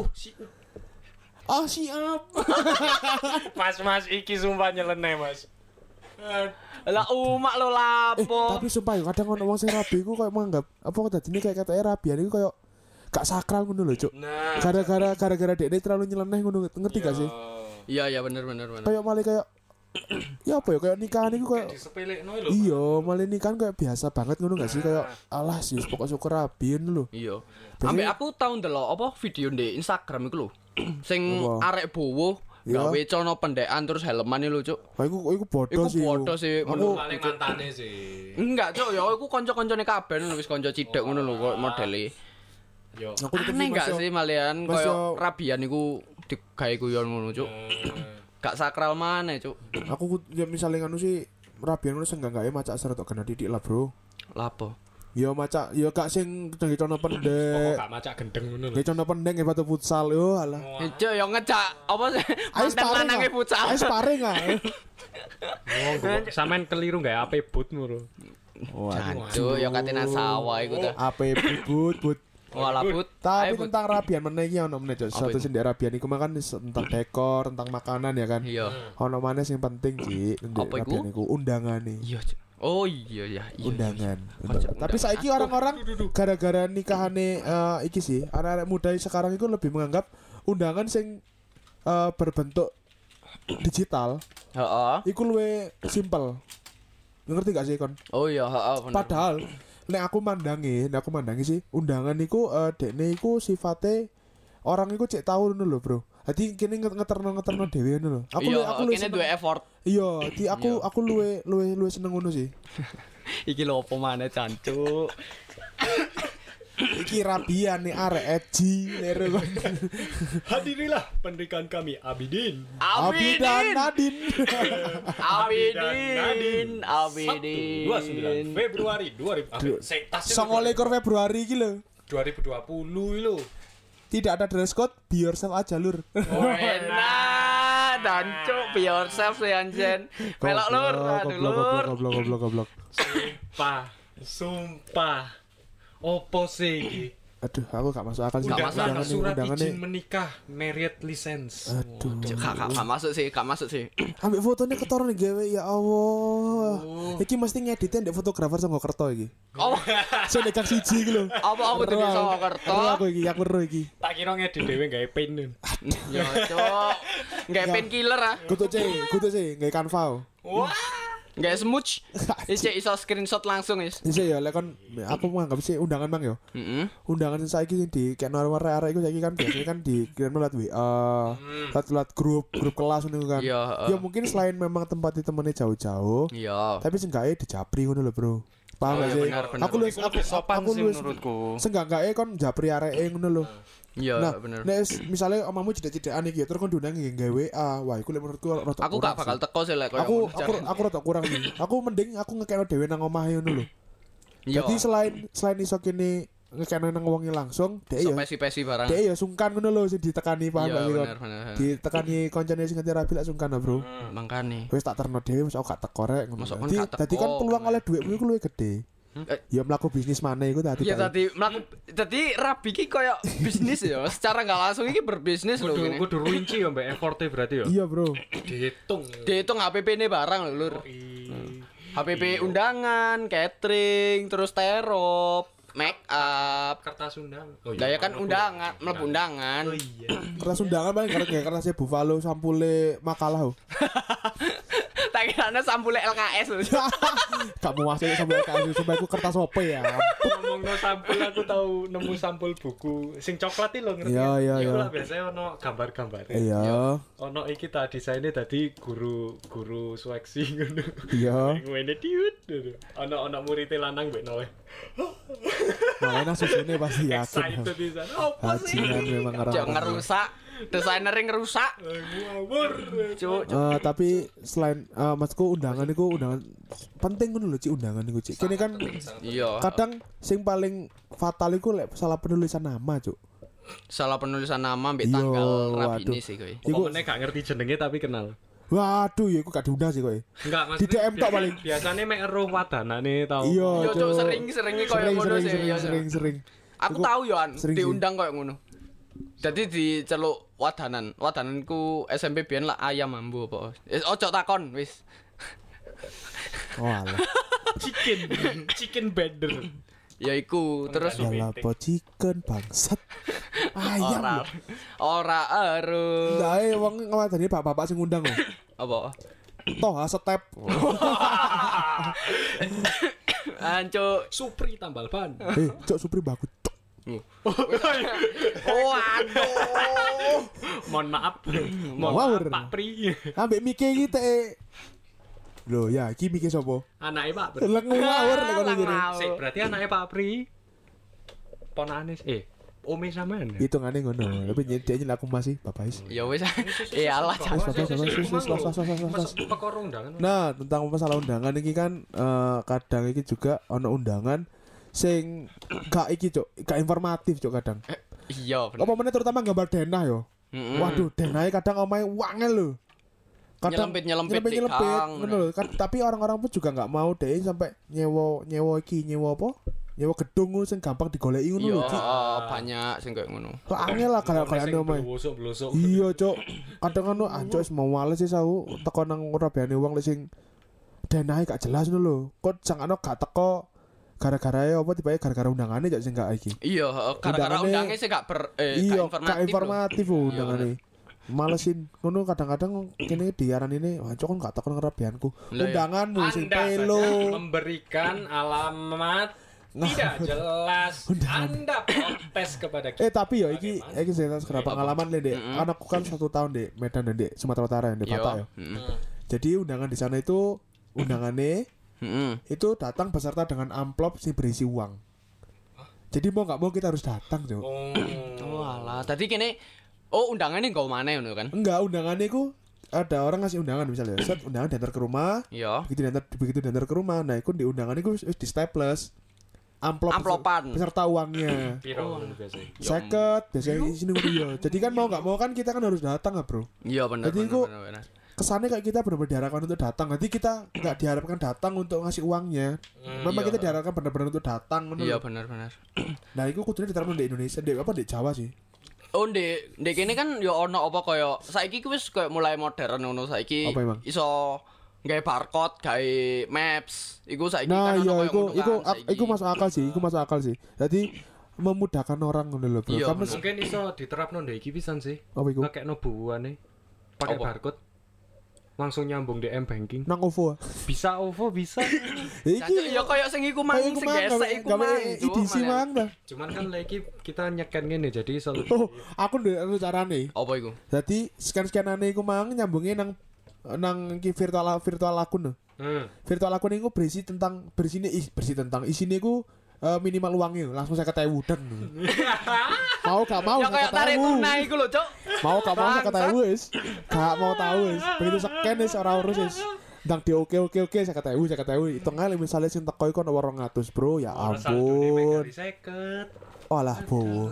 Siap. Mas iki sumpah nyeleneh, Mas. Lah umak lo lapo. Tapi sumpah ya kadang ono wong sing rabi ku koyo menganggap apa dadine kayak katanya rabian iku koyo gak sakral ngono lho, Cuk. Nah, Gara-gara dekne terlalu nyeleneh ngono ngerti gak sih? Iya bener. Kayak malah kayak ya apa ya kayak nikahan iku kayak disepelekno lho. iya, malah nikahan kayak biasa banget ngono gak sih kayak alah sih pokok syukur rabi ngono lho. Iya. Biasanya- Ambek aku tau ndelok apa video di Instagram iku lho. Sing Apa? arek bowo Iya. gawe celana pendekan terus helman lho, Cuk. Wah iku bodoh Iku sih. bodoh sih, Aku Paling mantane sih. Enggak, Cuk, ya iku kanca-kancane kabeh lho wis kanca cidek ngono lho kok modele. Yo. aku tetep Aneh enggak Mas, sih malian Mas, koyo yo- rabian iku digawe guyon ngono, Cuk. Gak sakral maneh, Cuk. aku ya misalnya nganu sih rabian ngono sing enggak macak seret kena didik lah, Bro. Lapo? Ya macak ya gak sing nggawe celana Pokok pendek. gak macak gendeng ngono lho. Nggawe celana pendek nggih batu futsal yo alah. Cuk, yo ngecak apa sih? Ayo Mantan lanange futsal. Ayo sparring ah. Sampean keliru gawe AP boot ngono. Cuk, yo katenan sawah iku ta. Ape but. Wala but. Tapi Ayo, Bud. tentang rabian meneh iki ono meneh Cuk. Apa Satu itu? sing ndek rabian iku mah kan tentang dekor, tentang makanan ya kan. Iya. Ono maneh sing penting Ci, ndek Apa iku? rabian iku undangane. Iya, Cuk. Oh iya ya. Undangan. Kocok Tapi undangan. saiki orang-orang gara-gara nikahane iki sih, anak-anak muda sekarang itu lebih menganggap undangan sing berbentuk digital Heeh. iku luwih simpel. Ngerti gak sih kon? Oh iya, heeh bener. Padahal nek aku mandangi sih undangan iku dekne iku sifate orang iku cek tau ngono lho, Bro. Dadi kene ngeterno dhewe ngono lho. Aku Iya, luwih kene seneng. duwe effort. Iya, di aku luwih seneng ngono sih. Iki lho opo maneh cancuk. Iki rabian nih arek Eji lere kon. Hadirilah pernikahan kami Abidin. Abi dan Nadine. Abidin. Sabtu 29 Februari 2000. Songolikur Februari iki lho. 2020 lho. Tidak ada dress code, be yourself aja lur. Enak, cancuk be yourself sih anjen. Melok lur, aduh lur. Goblok. Sumpah. Opo sih iki? Aduh, aku gak masuk akal sih. Gak masuk Undangan akal. surat Undangan izin menikah, marriage license. Aduh. Gak masuk sih. Ambek fotonya ketoran gawe ya Allah. Iki mesti ngeditnya ndek fotografer sanggo kerto iki. Oh, Sing nek kang siji iki lho. apa aku tuh bisa kerto? Aku iki. Tak kira ngedit dhewe gawe paint. Ya, cok. Nggak painkiller ah. Kudu sih, gawe Canva. Wah. Nggak smooch. Iki iso screenshot langsung, Is. Bisa ya lek kon aku menganggap sih undangan Bang yo. Heeh. Undangan sing saiki sing di kene arek-arek iku saiki kan biasanya kan dikirim lewat WA, lewat grup kelas ngono kan. Iya, Ya mungkin selain memang tempat temennya jauh-jauh, Iya. tapi seenggaknya dijapri ngono lho, Bro. Paham gak sih? benar. Aku lu aku lu menurutku. seenggaknya kon japri areke ngono lho. Iya, Nah, bener. nek misalnya omamu cedek-cedekan iki terus kon diundang nggawe WA. Wah, iku lek menurutku rada Aku kurang gak bakal sih. teko sih lek koyo Aku ngono. rada kurang sih. Aku mending aku ngekeno dhewe nang omahe ngono lho. Iya. Jadi selain iso kene ngekeno nang wonge langsung, dhek ya Pesi-pesi barang. dhek ya sungkan ngono lho sing ditekani paham Iya, gak sih kon? bener. Ditekani koncone sing nganti rapi lek sungkan ah, Bro. Mangkane. Wis tak terno dhewe wis aku gak teko rek ngono. Masuk kon Dadi gak teko. dadi kan peluang oleh dhuwitmu iku luwih gede. Ya mlaku bisnis maneh iku tadi. Iya tadi rabi ki koyo bisnis ya. Secara nggak langsung iki berbisnis lho Kudu gini. kudu rinci ya mbak effortnya berarti ya. Iya, Bro. Dihitung. Dihitung HPP ini barang lho lur. HPP undangan, catering, terus terop, make up. Kertas undangan. Oh Lah ya kan undangan, mlebu undangan. Oh iya. Kertas undangan paling kertasnya Buffalo sampule makalah. Tak kirane sampule LKS lho. Kamu masuk sampai kasih sampai aku kertas apa ya? Ngomong sampul aku tahu nemu sampul buku sing coklat iki lho ngerti. Iya, iya, Iku iya. lah biasanya ono gambar-gambar. Iya. Ono iki tak desainnya tadi guru seleksi ngono. Iya. Ngene diut. Ono murid lanang mbek noleh. Makanya susune pasti yakin. Excited di sana. Apa sih? Hajian memang Jangan orang. ngerusak. Desainernya ngerusak. Ngawur. Cuk. Tapi selain maksudku undangan itu undangan penting ngono lho Cik undangan iku Cik. Kene kan Iya. kadang sing paling fatal iku lek salah penulisan nama Cuk. Salah penulisan nama mbek Iya, tanggal waduh. rabine sih kowe. Iku Pokoknya gak ngerti jenenge tapi kenal. waduh ya iku gak diundang sih kowe. Enggak Di DM tok paling. Biasanya mek ero wadanane tau. Iya, Yo cuk Cuk. sering koyo ngono sih. Iya, Sering. Aku Iku tahu yo an sering sih. diundang koyo ngono. Jadi diceluk wadanan. Wadananku SMP biyen lah ayam ambu apa. Ojo takon wis. Oh alah. Chicken bender. Ya iku terus Ya lapo chicken bangsat. Ayam. ora ero. Lah wong ngawadani bapak-bapak sing ngundang kok. Apa? Toha step. Ancuk. Supri tambal ban. Cok Supri bagus. Cok. Oh, aduh. Mohon maaf. Ngawur. Pak Pri. Ambek Mike iki teh. Lho ya, iki Mike sapa? Anake Pak Pri. Lek ngawur lek ngono jere. Sik, berarti anake Pak Pri. Ponane Ome sampean. Hitungane ngono. Tapi nyedeknya aku masih Bapak Is. Ya wis. Iyalah, Perkara undangan. Nah, tentang masalah undangan iki kan kadang iki juga ono undangan sing gak iki, Cuk. Gak informatif, Cuk, kadang. Iya, bener. Apa meneh terutama gambar denah yo. Waduh, denahe kadang omahe wangel lho. Nyelempit Kang. Ngono lho. Tapi orang-orang pun juga enggak mau deh sampai nyewa apa? Nyewa gedung sing gampang digoleki ngono lho, Cik. Banyak sing koyo ngono. Lah angel lah kalau omahe. Blosok-blosok. Iya, Cuk. Kadang ngono anjuk wis mau males sih aku teko nang rabiane wong lek sing denahe gak jelas ngono lho. Kok jangane gak teko gara-gara apa tiba-tiba gara-gara undangane cok sing gak iki. Iya, gara-gara undange sih gak gak informatif undangane. Malesin ngono kadang-kadang kene diarani ini cok kan gak teko nang rabianku. Undanganmu sing pelo memberikan alamat tidak jelas. Anda protes kepada kita. Tapi ya iki saya kenapa pengalaman le Dek. Anakku kan 1 tahun Dek Medan dan Dek Sumatera Utara yang di Batak ya. Jadi undangan di sana itu undangane itu datang beserta dengan amplop sih berisi uang. Jadi mau nggak mau kita harus datang, Cok. Oh alah, tadi kene undangannya enggak mana ngono kan? Enggak, undangannya itu ada orang ngasih undangan misalnya, set undangan diantar ke rumah. Iya. Begitu diantar ke rumah, nah itu di undangannya itu di staples. Amplopan beserta uangnya. Piro biasanya? Seket, biasanya di sini dia. Jadi kan mau nggak mau kan kita kan harus datang lah, Bro. Iya benar. Jadi benar. Kesannya kayak kita benar-benar diharapkan untuk datang. Nanti kita nggak diharapkan datang untuk ngasih uangnya. Memang kita diharapkan benar-benar untuk datang. Iya benar. Nah itu kudunya diterapkan di Indonesia, di Jawa sih. Ndek kene kan ya ono apa kaya saiki ku wis kaya mulai modern ngono saiki. Iso gawe barcode, gawe maps. Iku saiki kan ono iku masuk akal sih. Jadi memudahkan orang ngono lho, Bro. Iya, mungkin iso diterapno ndek iki pisan sih. Apa iku? Ngekekno buwane. Pakai barcode. Langsung nyambung DM banking. Nang OVO. Bisa OVO bisa. Iki ya koyo sing iku mang sing gesek iku mang. Edisi mang dah. Cuman kan lagi kita nyeken ngene jadi iso. Aku ndek carane. Apa iku? Jadi scan-scanane iku mang nyambunge nang iki virtual akun. Virtual akun iku berisi tentang isine iku minimal uangnya langsung 50.000 dan mau gak mau ya kayak tarik tunai iku lho, Cuk. Mau gak mau 50.000 wis gak mau tahu wis begitu scan wis ora urus wis ndang di oke 50.000 hitung ae misale sing teko iku ono 200 bro ya ampun olah bowo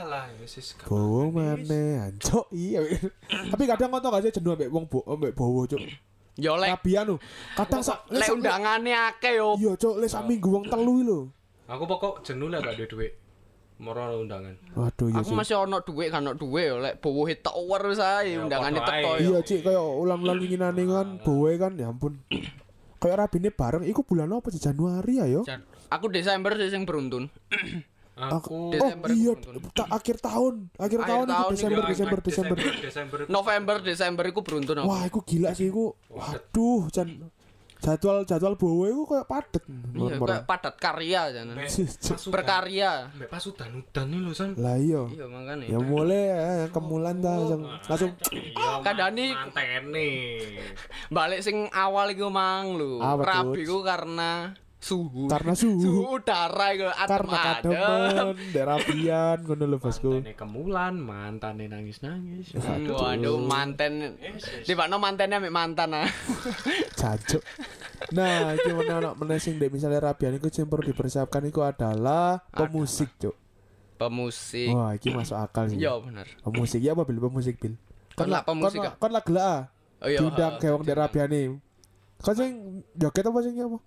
bowo maneh ancuk iya tapi kadang ngono gak sih jenuh ambek wong ambek bowo Cuk. Ya lek rabian lho kadang lek undangane akeh yo iya Cuk lek sak minggu wong 3 lho. Aku pokok jenuh lah gak ada duit. Moro undangan. Waduh iya. Aku masih ono duit kan ono duit yo lek bowo tower sae undangane teko yo. Iya Cik kaya ulang-ulang winginane kan bowe kan ya ampun. Kayak rabine bareng iku bulan apa sih Januari ya yo? Aku Desember sih sing beruntun. Aku Desember akhir tahun itu Desember. Desember iku beruntun. Wah, iku gila sih iku. Waduh, Jan. Jadwal bowe iku kayak padet. Iya, kayak padat karya jane. Berkarya. Mbek pasudan-udan lho, San. Lah iya. Iya, makane. Ya mulai kemulan ta langsung kadani mantene. Balik sing awal iku mang lho. Rabi ku karena suhu udara iku adem derapian ngono lho bosku. Mantene kemulan, mantane nangis-nangis. Waduh, manten. Tibakno mantene ambek mantan ah. Jancuk. Nah, iki ono meneh sing misale rabian iku sing perlu dipersiapkan iku adalah pemusik, Cuk. Pemusik. Wah, iki masuk akal sih. Iya, bener. Pemusik ya apa pemusik Bil? Kon lah pemusik. Kon lah gelak. Oh iya. Diundang ke wong rabiane. Kan sing joget apa sing apa?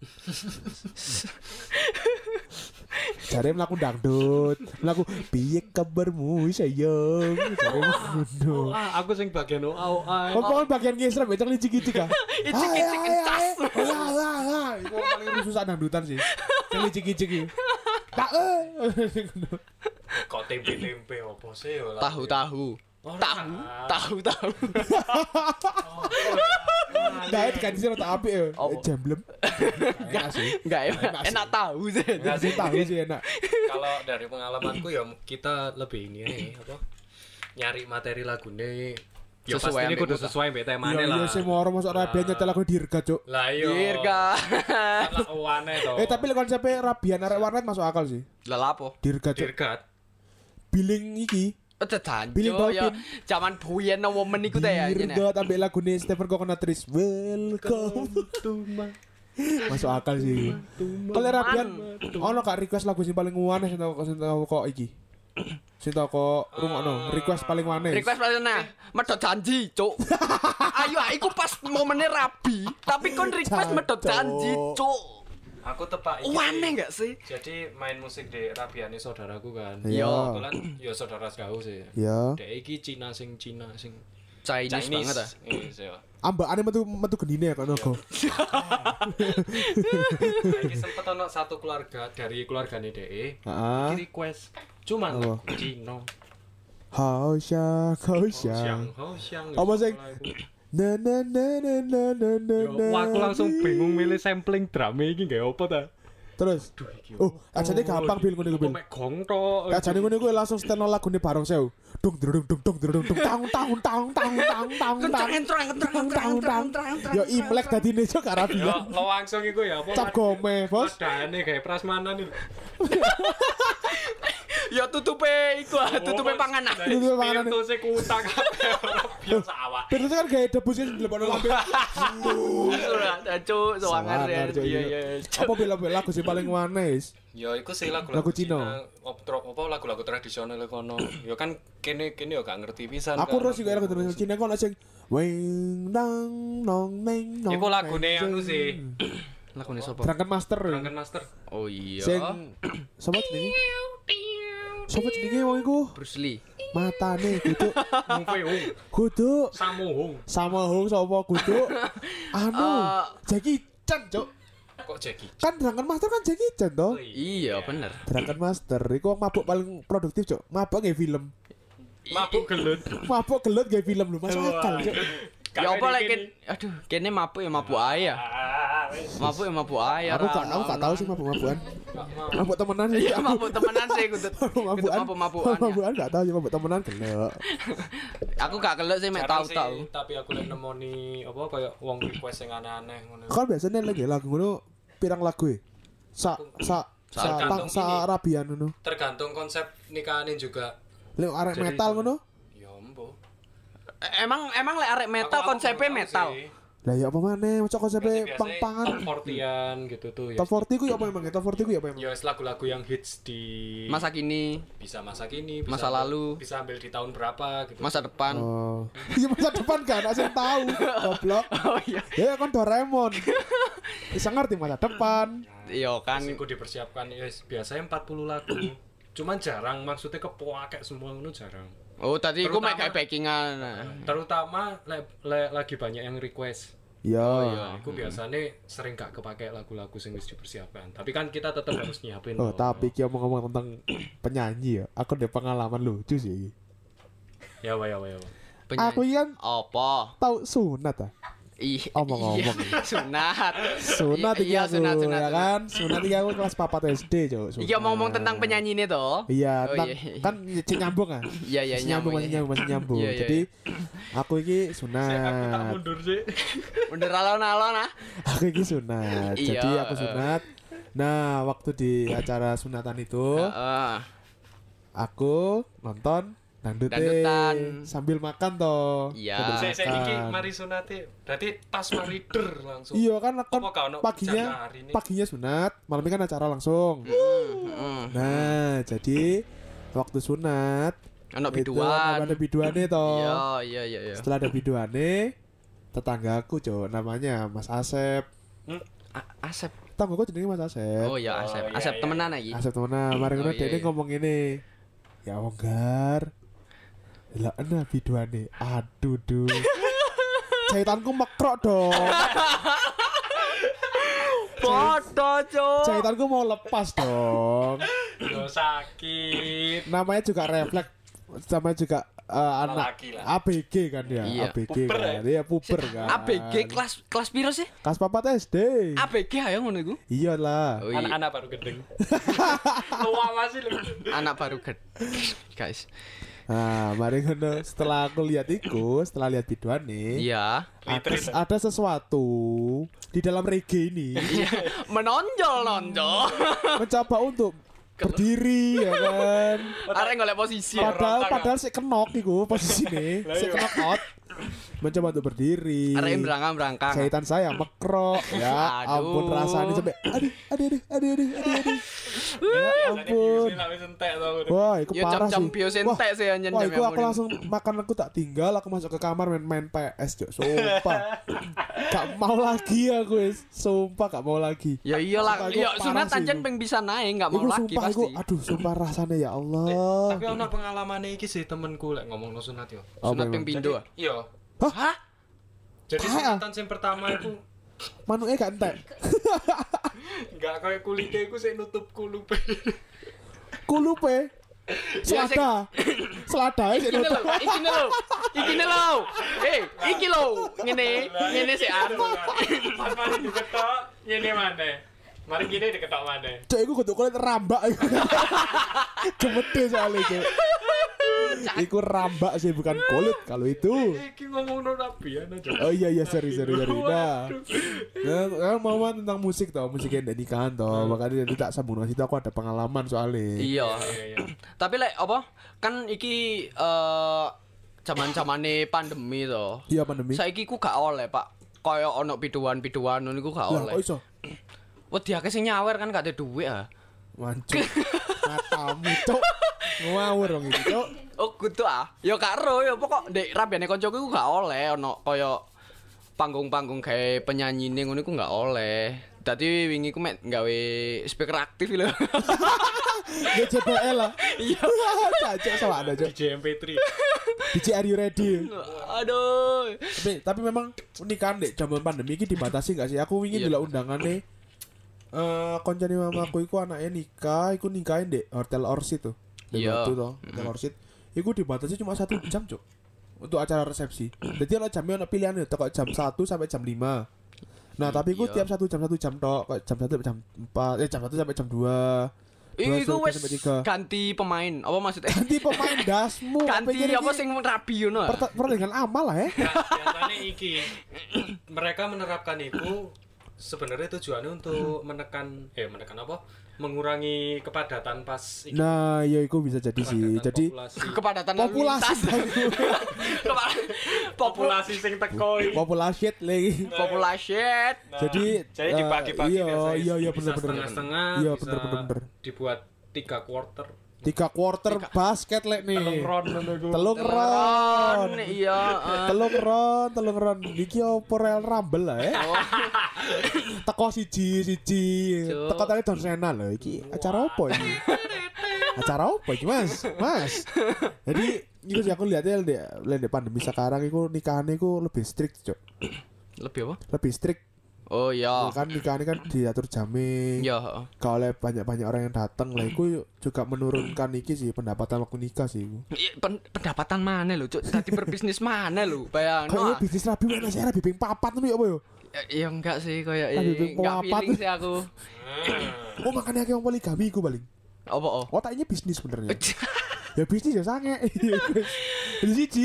Jare mlaku dangdut, mlaku piye kabarmu sayang. Jare ngono. Aku sing bagian oa. Kok bagian gesrem becak licik-licik ah. Icik-icik encas. Iku paling susah dangdutan sih. Sing licik-licik iki. Tak Kok tempe-tempe opo sih ora. Tahu-tahu. Tahu. Nah, ganti sih rada apik ya. Apa? Jamblem. Enggak sih. Enggak enak tahu sih. Enggak sih, Tahu sih enak. kalau dari pengalamanku ya kita lebih ini apa nyari materi lagune ya Sesuai pasti ini ambek kudu muka. sesuai mbek temane Iya lah. iya sih moro masuk Rabian nyetel lagu Dirga, Cuk. Lah iya. Dirga. Lah wane to. Tapi konsepnya Rabian arek warnet masuk akal sih. Lah lapo? Dirga, Cuk. Dirgat. Billing iki. Udah janjo Billy ya. Dolphin. Zaman buyen no woman iku ta ya. Dirga tambah lagune Stephen Coconutris. Welcome to my masuk akal sih. Kalau Rabian ono gak request lagu sing paling aneh sing tau kok iki. Sing tau kok rungokno request paling aneh. Request paling nah, medot janji, Cuk. Ayo iku pas momennya rabi, tapi kon request medot janji, Cuk. Aku tepak iki. Aneh gak sih? Jadi main musik di Rabiane saudaraku kan. Iya. Kebetulan ya saudara jauh sih. Iya. Dek iki Cina sing Chinese banget ah. Iya. Ambakane metu gendine ya kok nogo. Iki sempet ono satu keluarga dari keluargane DE Heeh. request cuman Apa? lagu Cina. Hausyang. Hausyang. Apa sing? Na na na na na na na na. Wah, aku langsung bingung milih sampling drama iki gak apa ta. Terus. Oh, ajane gampang bil ngono iku bil. Mek gong tok. Ajane ngono iku langsung setel lagune bareng sewu. Dung dung dung dung dung dung tang. Yo Imlek dadine cok Yo, Arabian. lo langsung iku ya apa? Cap gome, Bos. Padane gawe prasmanan iki. Ya tutupe iku ah, tutupe panganan. Tutupe panganan. Itu sik kutak kabeh biasa awak. Terus kan gawe debus sing dilebokno lambe. Ora, Cuk, soangan ya. Sangar, Cuk, Iya iya. iya. Apa bil lagu sing paling manis? Ya iku sih Lagu lagu-lagu Cina. apa lagu-lagu tradisional kono. Ya kan kene yo gak ngerti pisan. Aku kan. terus juga lagu tradisional Cina kok sing wing dang nong neng nong. Iku lagune anu sih. Lakune sapa? Drunken Master. Drunken Master. Oh iya. Sing sapa jenenge? Sapa jenenge wong iku? Bruce Lee. Matane kudu Mufeung. kudu Samuhung. sama hong sapa kudu anu Jackie Chan cuk. Kok Jackie? Kan Drunken Master kan Jackie Chan toh. Iya, bener. Drunken Master iku wong mabuk paling produktif cuk. Mabuk nggih film. Mabuk gelut. Mabuk gelut nggih film lho masuk akal cuk. Ya apa lek aduh, kene mabuk ya mabuk ae ya. Mabuk ya mabuk ae. Aku gak tahu sih mabuk-mabukan. Mabuk temenan sih. Iya, mabuk temenan sih kudu. Kudu mabuk-mabukan. Mabukan gak tahu sih mabuk temenan gelek. Aku gak kelek sih mek Jarang tahu-tahu. sih, tapi aku lek nemoni apa kayak wong request sing aneh-aneh ngono. Kan biasanya lagi lagu ngono pirang lagu e. Sa Rabian ngono. Tergantung konsep nikahane juga. Lek arek Jadi metal ngono. Ya embo. Emang lek arek metal konsepnya metal. Lah ya apa maneh macam konsepnya pang-pangan. Top 40-an gitu tuh ya. Top 40 ku ya apa emang? Top 40 ku ya apa emang? Ya lagu-lagu yang hits di Masa kini, bisa masa kini, bisa masa lalu, bisa ambil di tahun berapa gitu. masa depan. Oh. Iya masa depan kan, asal tahu. Goblok. Oh iya. Ya kan Doraemon. Bisa ngerti masa depan. Iya kan. Iku dipersiapkan ya biasanya 40 lagu. Cuman jarang maksudnya kepoakek semua ngono jarang. Oh, tadi aku mek Terutama- kayak backingan. Terutama lagi banyak yang request. Ya. Aku biasanya sering gak kepake lagu-lagu sing wis dipersiapkan. Tapi kan kita tetap harus nyiapin. Oh, loh. tapi ki ngomong tentang penyanyi ya. Aku ada pengalaman lucu sih. Ya wa. Aku kan apa? tahu sunat ah. Omong-omong. Sunat. Sunat iki Iya, aku ya kan. Sunat iki aku kelas 4 SD, Cuk. Iki ngomong tentang penyanyi ini toh. Iya, Oh, tentang- iya. kan nyambung ah. Iya iya Masih nyambung, masih nyambung. Iya, iya, Jadi aku iki Aku tak sunat. mundur sih. Bener alon-alon ah. Aku iki sunat. Iya, Jadi aku sunat. Nah, waktu di acara sunatan itu, Heeh. aku nonton dangdutan sambil makan toh. Iya. Sambil Saya iki makan. mari sunate. Berarti pas mari der langsung. Iya kan Apa gak ono paginya jam hari ini? paginya sunat, malamnya kan acara langsung. Heeh. Nah, jadi waktu sunat Ono itu biduan. ada biduane toh. Iya iya iya. Setelah ada biduane, tetanggaku cok namanya Mas Asep. Asep. Tetanggaku jenenge Mas Asep. Oh iya Asep. iya, Asep iya. temenan lagi. Asep temenan, mari ngono Oh, iya, dene iya. ngomong ngene. Ya Wonggar. Lah enak biduane. Aduh duh. Jahitanku mekrok dong. Foto, Cuk. Jahitanku mau lepas dong. Yo sakit. Namanya juga refleks. Namanya juga anak Laki lah. ABG kan ya, Iya. ABG Puber kan. Iya puber kan. ABG kelas piro sih? Kelas 4 SD. ABG ayo ngono iku. Iyalah. Oh, iya. Anak-anak baru gedeng. Tua masih lho. Anak baru guys. Nah, mari ngono setelah aku lihat iku, setelah lihat videoane, Iya. ada sesuatu di dalam reggae ini Menonjol. mencoba untuk berdiri ya kan. Arek golek posisi. Padahal sik kenok iku posisine, sik kenok out. Mencoba untuk berdiri. Arek berangkang. Setan saya mekrok ya Aduh. ampun rasanya sampai aduh. Ya ampun. Wah, itu Ya parah jam-jam sih. bio sentek sih anjen Wah, jam itu aku yang langsung makan aku tak tinggal, aku masuk ke kamar main PS, Cok. Sumpah. Gak mau lagi aku, wis. Sumpah gak mau lagi. Ya iyalah, Sumpah, ya iku sunat parah sih, anjen iku. peng bisa naik enggak mau Iku lagi sumpah pasti. aduh, sumpah rasanya ya Allah. Tapi ono pengalaman iki sih temenku lek ngomong no sunat yo. Oh, Sunat memang. peng pindo. ah? Iya. Hah? Jadi Ah. sunatan yang pertama itu Manuke gak entek. enggak kayak kulitnya iku sik nutup kulupe. Kulupe. Ya, Selada sih Iki nutup. lho. Iki lho. Ngene sih anu. Mari diketok ngene maneh. Mari gini diketok maneh. Cok, iku kudu kulit rambak iku. Gemede soalnya Cok. Iku rambak sih bukan kulit kalau itu. Iki ngomong no nabian aja. Oh iya sorry. Nah, mau tentang musik toh, musik yang dari nikahan toh. Makanya nanti tak sambung situ aku ada pengalaman soalnya. Iya. Tapi lek apa? Kan iki zaman-zamane pandemi to. Iya pandemi. Saiki ku gak oleh, Pak. Kaya ono piduan-piduan ngono iku gak Lah oleh. kok iso? Wedi akeh sing nyawer kan gak ada duit ah. Wancuk. Matamu Cok. Ngawur dong iki Cok. Oh kudu ah. Ya gak ero ya pokok ndek rabene koncoku iku gak oleh ono kaya panggung-panggung gawe penyanyine ngono iku gak oleh. Dadi wingi ku mek gawe speaker aktif lho. Ya JBL lah. Iya. Cacok sama ada Cok. DJ MP3. DJ Are You Ready? Aduh. Tapi memang nikahan dek zaman pandemi ini dibatasi gak sih? Aku ingin Iya. dulu undangannya. Koncone mamaku iku anaknya nikah, iku nikahin dek Hotel Orchid tuh. Di Iya. Batu toh, Hotel Orchid. Iku dibatasi cuma 1 jam, Cuk. Untuk acara resepsi. Jadi ono jamnya ono pilihan ya, kok jam 1 sampai jam 5. Nah, tapi iku Iya. tiap 1 jam toh, kok jam 1 sampai jam 4, jam 1 sampai jam 2. Iku wis sampai 3. ganti pemain. Apa maksudnya? Ganti pemain dasmu. Ganti apa sing rabi ngono. ah? pertandingan amal lah ya. Biasanya iki mereka menerapkan itu sebenarnya tujuannya untuk menekan apa? Mengurangi kepadatan pas iki. Nah, ya itu bisa jadi sih. Kepadatan Jadi populasi. Kepadatan lalu populasi lintas. Populasi sing teko iki. populasi lagi. Populasi. Nah, Jadi dibagi-bagi biasanya. iya Bisa bener. setengah-setengah, Iya bisa bener. dibuat 3 quarter. 3 quarter basket lek nih. Telung round ngono iku. Telung Ron, ron. iya. Telung ron. Iki opo Royal Rumble lah ya. Teko siji. Cuk. Teko tadi Don Sena lho iki. Acara opo ini? Acara opo iki, Mas? Jadi itu sih aku lihatnya di pandemi sekarang iku nikahannya iku lebih strict, Cuk. Lebih apa? Lebih strict. Oh iya. Kan nikahannya kan diatur jamnya. Iya. Kalau oleh banyak orang yang datang lah, itu juga menurunkan iki sih pendapatan waktu nikah sih. Pendapatan mana lho, Cuk? Tadi berbisnis mana lho? Bayang. Kayaknya bisnis rabi mana sih? Rabi ping papat tuh ya apa yo? Ya enggak sih kayak Tapi ping enggak papat. feeling sih aku. Oh makanya kayak poligami ku paling. Apa oh? Otaknya bisnis sebenarnya. Ya bisnis ya sange. Jadi siji.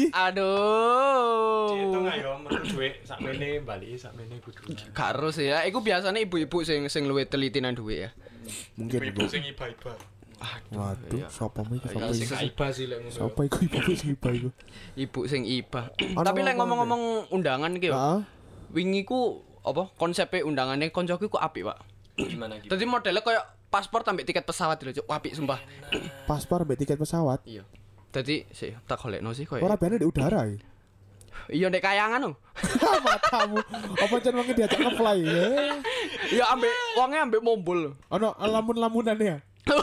Aduh. Dihitung ayo menurut duit sakmene bali sakmene kudu. Karo sih ya, iku biasanya ibu-ibu sing luwih teliti nang duit ya. Mungkin. Ibu sing iba-iba. Waduh, sapa iki Iya, sapa sing iki? Iba sih lek ngono. Sapa iku ibu sing iba iku? Ibu sing iba. Ono Tapi lek apa-apa ngomong-ngomong undangan iki yo. Heeh. Wingi ku apa konsepnya undangannya koncoku ku apik, Pak. Gimana gitu? Dadi modelnya kayak paspor tambah tiket pesawat lho, Cuk. Apik sumpah. Paspor mbek tiket pesawat. Iya. Dadi sih tak golekno sih koyo. Ora bene di udara ya. Iya ndek kayangan lho. Matamu. Apa jan wong diajak nge-fly ya? Iya ambek wonge ambek mombol. Ono lamun-lamunan ya.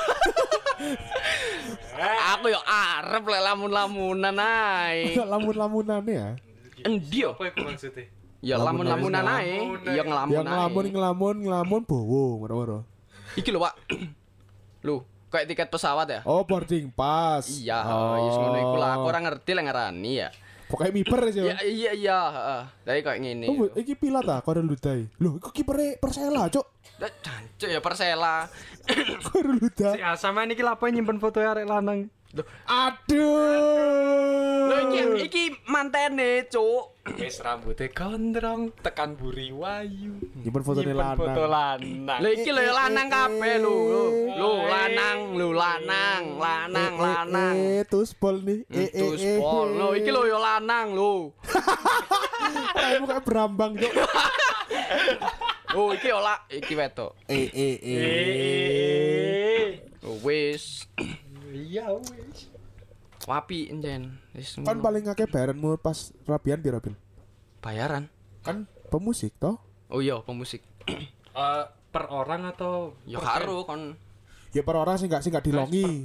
Aku yo arep lek lamun-lamunan ae. Ono lamun-lamunan ya. Endi yo? Apa iku maksudnya? Ya lamun-lamunan ae. Iya ngelamun Yang ae. ngelamun bowo, moro-moro. Iki lho, Pak. Lho, kayak tiket pesawat ya. Oh, boarding pass. Iya, Oh. wis ngono iku lah. Aku ora ngerti lah ngarani ya. Pokoknya miper aja. Ya iya, heeh. Tapi kayak ngene. Oh, iki pilat ah, Korel Ludai. Loh, iku kipere Persela, Cuk. Jancuk ya Persela. Korel Ludai. Si sama niki lapo nyimpen foto arek lanang. Aduh. Lho iki mantene, Cuk. Wis rambutnya gondrong, tekan buri wayu. Nyimpen fotone Nyimpen foto lanang. lanang. Lho iki lho ya lanang kabeh lho. Lho lanang. Tuspol nih. Terus pol. Lho iki lho ya lanang lho. Kayak kayak berambang, Cuk. Oh iki olah iki wedok. Oh wis. Iya wis. Wapi enjen. Wis Kan paling akeh bayaranmu pas rabian piro, Bil? bayaran. Kan pemusik toh? Oh iya, pemusik. Per orang atau Ya karo kon. Ya per orang sih enggak dilongi.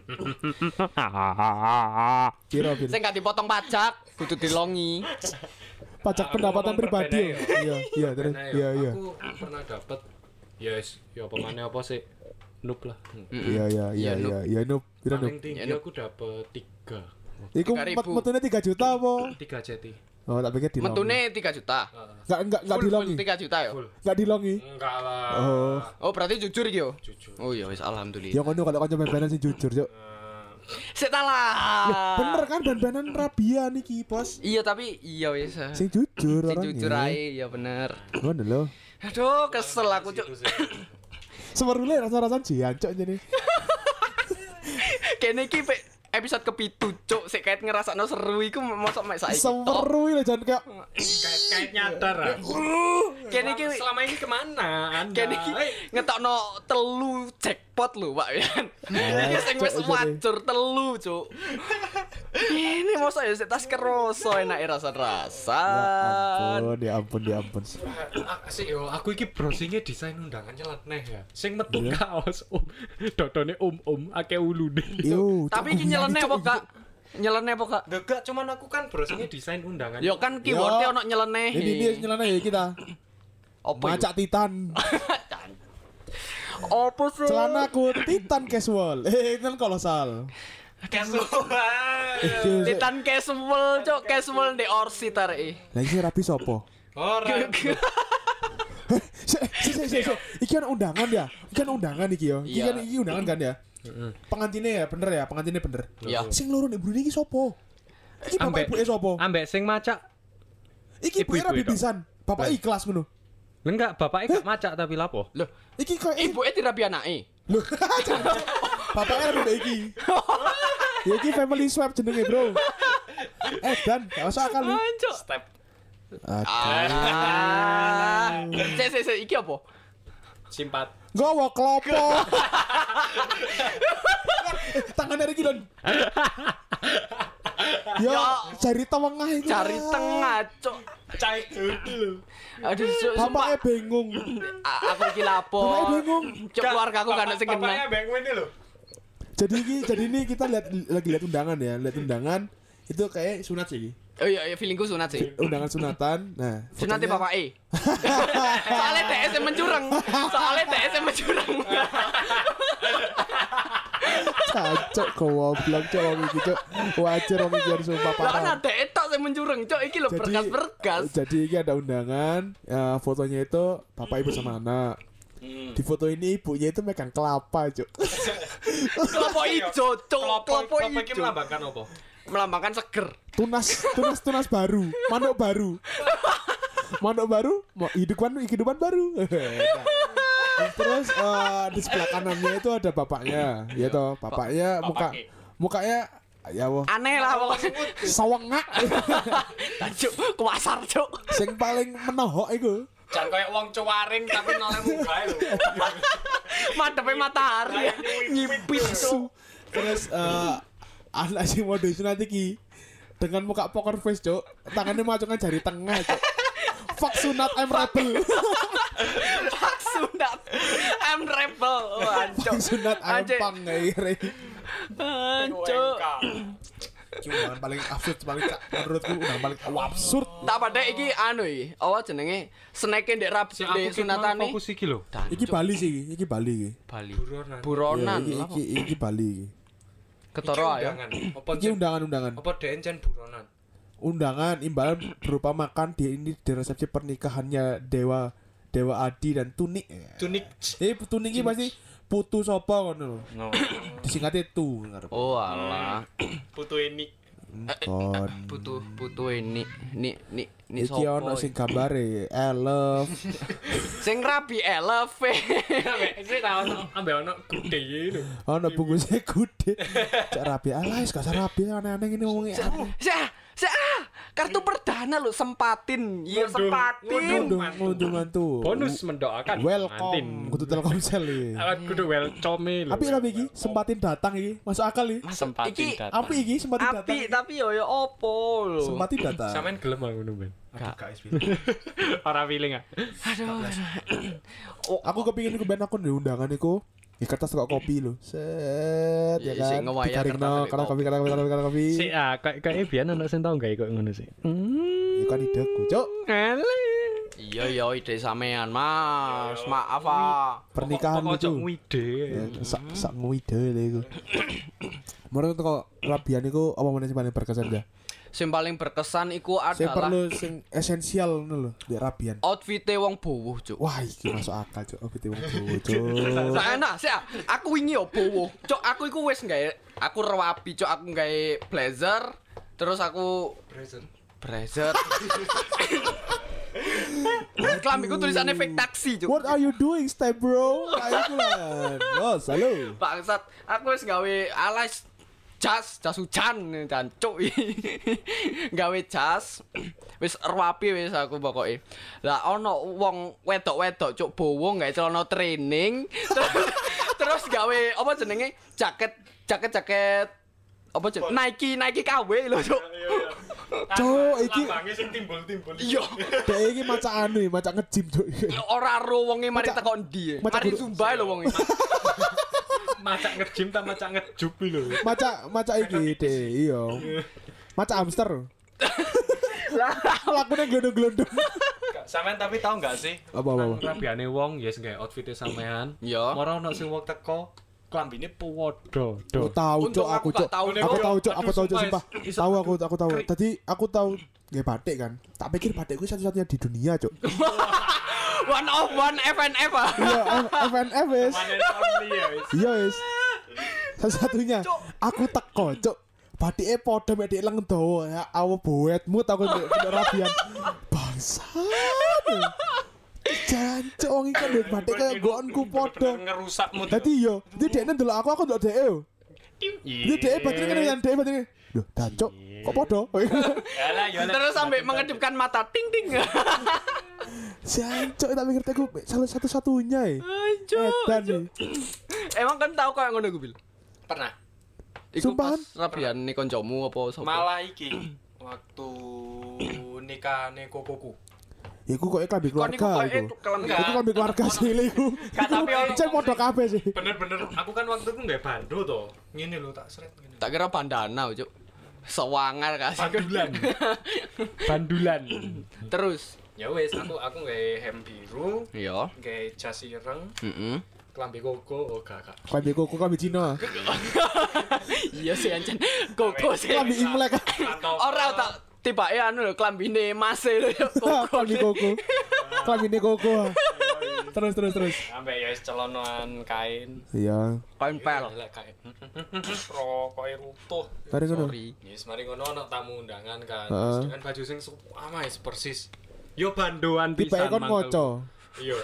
Piro, Bil? Sing gak dipotong pajak, kudu dilongi. Pajak pendapatan ngomong pribadi. perbeda Iya, terus. Iya. Aku pernah dapat yes, ya apa maneh apa sih? Noob lah. Iya, Noob. Piro, Noob? Paling tinggi Ya, Noob. aku dapat 3. Iku 3.000. metune 3 juta apa? 3 jeti. Oh, tak pikir dilongi. Metune 3 juta. Enggak Full dilongi. 3 juta ya. Full. Enggak dilongi. Enggak lah. Oh. Oh, berarti jujur iki yo. Jujur. Oh iya wis alhamdulillah. Ya ngono kalau kanca band-bandan sing jujur, Cuk. Sik ta lah. Bener kan band-bandan rabian iki, Bos. Iya tapi iya wis. Sing jujur Sing orangnya. jujur ae ya bener. Ngono lho. Aduh, kesel aku, Cuk. Semerule rasa-rasan jancuk jene. Kene iki episode kepitu, Cuk. Sik kait ngrasakno seru iku mosok mek saiki. tok. Semerule jan kayak Kayak nyadar ah. Kene iki Selama ini kemana Anda? kene iki ngetokno telu jackpot lho, Pak Yan. Nah, Sing wis Cuk, wajur telu, Cuk. Ini mosok ya sik tas keroso enake rasa-rasa. ya ampun. Sik yo, aku iki browsingnya desain undangan nyeleneh ya. Sing metu Iya. kaos dodone akeh ulune. Yo, Tapi iki nyeleneh apa, Kak? Nyeleneh apa, Kak? Enggak, cuman aku kan browsingnya desain undangan. Yo kan keyword-e ono nyeleneh. Ini dia nyelana ya kita. Opo iku? Macak Titan. Opo sih? Celanaku Titan casual. Kan kolosal. casual. Titan casual, Cuk. Casual di Orsi tareke. Lah iki rapi sopo? Ora. Sik. Iki kan undangan ya. Iki kan undangan iki yo. Iki Iya. kan iki undangan kan ya. Pengantinnya ya bener ya, pengantinnya bener. Iya. Sing loro nek brune iki sopo? Iki bapak Ambek- ibuke sopo? Ambek sing macak. Iki ibuke ibu-ibu rabi itu. pisan. Bapak ikhlas ngono. Enggak, bapaknya gak macak tapi lapo. Loh, Iki kok ibuke dirabi anake. Loh, bapaknya rabi iki. Ya iki family swap jenenge, Bro. Dan gak usah akal lu. Anjuk. Step. Ah. Sik, iki apa? Simpat. Gowo klopo. Tangan dari Kilon. Yo, cari tengah itu. Cari tengah, Cuk. Cai dulu. Aduh, Cuk. Sumpah. Bapaknya bingung. Aku iki lapo. Bapaknya bingung. Cuk, keluarga aku gak ada sing Bapaknya kenal. bingung ini loh. Jadi ini kita lagi lihat undangan ya, lihat undangan itu kayak sunat sih. Oh iya, feelingku sunat sih. Undangan sunatan. Nah, Sunatnya fotonya- bapak E. Soalnya DS yang mencurang. Cacok goblok cok wong iki cok. Wajar wong iki harus sumpah Lah kan parah. ada etok yang mencurang, Cok. Iki lho berkas-berkas. Jadi ini ada undangan, ya, fotonya itu bapak ibu sama anak. Di foto ini ibunya itu megang kelapa, cok. Kelapa ijo, Cok. Kelapa ini ijo. melambangkan apa? Melambangkan seger. Tunas baru, manuk baru. Manuk baru, kehidupan baru. Terus di sebelah kanannya itu ada bapaknya, ya toh. Bapaknya mukanya ya wah. Aneh lah pokoknya. Sawengak. Cuk, kuasar, Cuk. Sing paling menohok iku. Jangan kayak wong cuwaring tapi noleh muka lho. Madepe matahari. Nyipit, Cuk. Terus anak si mode sunat iki dengan muka poker face, cok. Tangannya macungan jari tengah, cok. Fuck sunat, I'm rebel. Pak sunat. I'm rebel. Oh, Fuck anjok. sunat, I'm Anjir. pang. Anjok. Iki undangan paling absurd paling menurutku undangan paling absurd. Tak pada iki anu iki, apa jenenge? Snake ndek rap Si aku ndek ki mau sunatane. fokus iki lho. Iki Bali sih, iki Bali iki. Bali. Buronan. Buronan. Iya, iki Bali iki. Ketara ya. Apa Iki undangan-undangan. Apa dencen buronan? Undangan imbalan berupa makan di resepsi pernikahannya Dewa Adi dan Tunik. Tunik. Tunik iki pasti putu sapa ngono lho. No. Disingkate tu ngarep. Oh alah. Putu ini. Kon. Putu ini. Ni Iki ono sing gambare elef. Sing rapi eleve. Sik ta ono ambek ono gede lho. Ono bungkusnya gede. Cak rapi. Alah wis gak usah rapi aneh-aneh ngene ngomongi. Kartu perdana lu sempatin. Iya Ngunduh, sempatin. Ngunjungan tuh. Bonus mendoakan Welcome. Kudu Telkomsel iki. Awak kudu welcome lho. Tapi iki sempatin datang iki. Masuk akal iki. Iki Api iki sempatin datang. api tapi yo opo lho. Sempatin datang. Sampean gelem aku ngono ben. Guys. Ora feeling ah. Aduh. Aku kepingin iku ben aku di undangan iku. Di kertas kok kopi lho. Set ya Iya, sing kan. ngewayang Digaringno kertas karena kopi. Sik kayak biyen ono sing tau gawe kok ngono sih. Iku kan ideku, Cuk. Iya ide sampean, Mas. Maaf ah. Pernikahan itu. itu. Wide. Sak ngide lho iku. Menurut kok rabian iku apa meneh sing paling berkesan ya? Sing paling berkesan iku Sing adalah perlu sing esensial ngono lho, di rabian. outfite wong bowo, Cuk. Wah, iki masuk akal, Cuk. Oke, tiba Cuk. Sak enak sih. Aku wingi yo bowo. Cuk, aku iku wis gawe aku rewapi, Cuk. Aku gawe blazer, terus aku blazer. Klambiku tulisannya fake taxi, Cuk. What are you doing, step bro? Ayo bulan. Oh, halo. Bangsat, aku wis gawe alas jas hujan jancuk. Gawe jas. Wis rapi wis aku pokoke. Lah ono wong wedok-wedok cuk bowo gawe celana training. Terus gawe apa jenenge? Jaket apa jenenge? Nike KW lho, Cuk. Cuk, iki Lambange sing timbul-timbul. Iya. dek iki maca anu, maca nge-gym, Cuk. Ora ro wonge mari teko ndi. Macak Mari guru- Zumba lho wonge. Macak nge-gym ta macak ngejup lho. Maca iki, Dek. Iya. Maca hamster. Lakune glondong-glondong. Sampean tapi tahu enggak sih? Apa? Rabiane wong yes gawe outfit sampean. Iya. Moro ono sing wong teko klambine padha. Aku tahu, Cuk, Untung aku aku gak Cuk. tahu, Aku tahu, Cuk, aku Aduh, tahu, Cuk, sumpah, sumpah. iso- Tahu aku tahu. Tadi aku tahu nggih batik kan. Tak pikir batik ku satu-satunya di dunia, Cuk. One of one FNF ah. Iya, FNF wis. wis. Iya wis. Satu-satunya. Aku teko, Cuk. Batike padha mek dik leng dawa. Ya awu boetmu takon rabian. Bangsat. Jancuk wong iki lho batik kaya goonku padha. Ngerusakmu. Dadi yo, dadi dekne ndelok aku ndelok dhek yo. Dadi dhek batine kene yang dhek batine. Lho, dancuk. Kok padha? Yalah, yalah. Terus sampai mengedipkan mata ting ting. Jancuk tak pikir aku salah satu-satunya ya. Edan nih. Emang kan tahu kayak ngono gue bil. Pernah. Iku Sumpahan? pas rabian nih koncomu apa sapa? Malah iki waktu nikahane kokoku. Ya iku kok klambi Kon iku keluarga koyo iku. kelembagaan. Iku klambi keluarga sih lho iku. Gak, tapi ono- Cek padha kabeh sih. Bener-bener aku kan waktu itu nggak bando toh. Ngene lho tak seret ngene. Tak kira bandana, Cuk. Sewangar kasih. Bandulan. Bandulan. Terus, Ya wes aku nggak hem biru, iya. nggak jas ireng, Heeh. kelambi koko, oh gak. Klambi koko klambi Cina. Iya sih ancen. Koko sih. Klambi Imlek. Atau Ora tak tibake anu lho klambine Mas lho. Klambi koko. Klambi koko. Terus. sampai ya wis celonoan kain. Iya. Kain pel. Lah kain. Rokoke rutuh. Mari ngono. Sorry. Yes, mari ngono ono tamu undangan kan. Heeh. Terus dengan baju sing sama wis persis. Yo bandoan Tiba pisan. kon ngoco. Iya.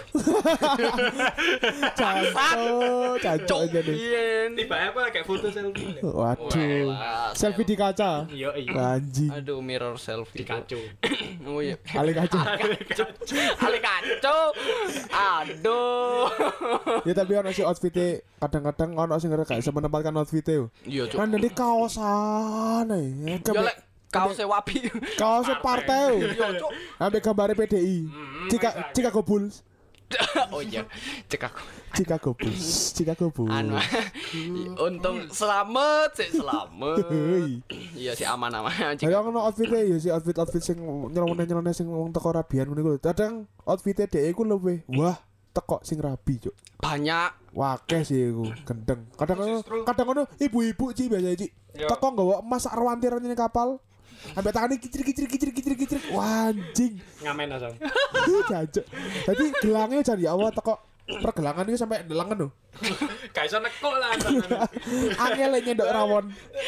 Cancuk aja nih. Yen. Tiba apa kayak foto selfie. Waduh. Walah, Selfie di kaca. Iya, iya. Anjing. Aduh, mirror selfie. Di kacu. Oh iya. Kali kaca. Ali kaco. Aduh. Ya tapi ono sih outfit kadang-kadang ono sing ngerek gak iso menempatkan outfit e. Iya, Cuk. Kan nanti kaosan ae. Ya lek kaosnya wapi. Kaosnya partai. Iya, Cuk. Ambek gambare PDI. Chicago Bulls. Oh iya, cek aku. Chicago Bulls. Anu. Untung selamat, selamat. Hei. Iya sih aman-aman. Ayo ngono outfit-e ya sih outfit sing nyelone sing wong teko rabian ngono iku. Kadang outfit-e dhek iku luwih wah teko sing rabi, Cuk. Banyak. Wakeh sih iku, gendeng. Kadang ngono ibu-ibu Ci biasa Ci. Teko nggawa emas sak rewantir ning kapal. Ambek tangane kicir. Wah, anjing. Ngamen asam. Jancuk. Dadi gelange jan ya Allah teko pergelangan itu sampai delengen lho. Gak iso nekuk lah. Angel nyendok rawon.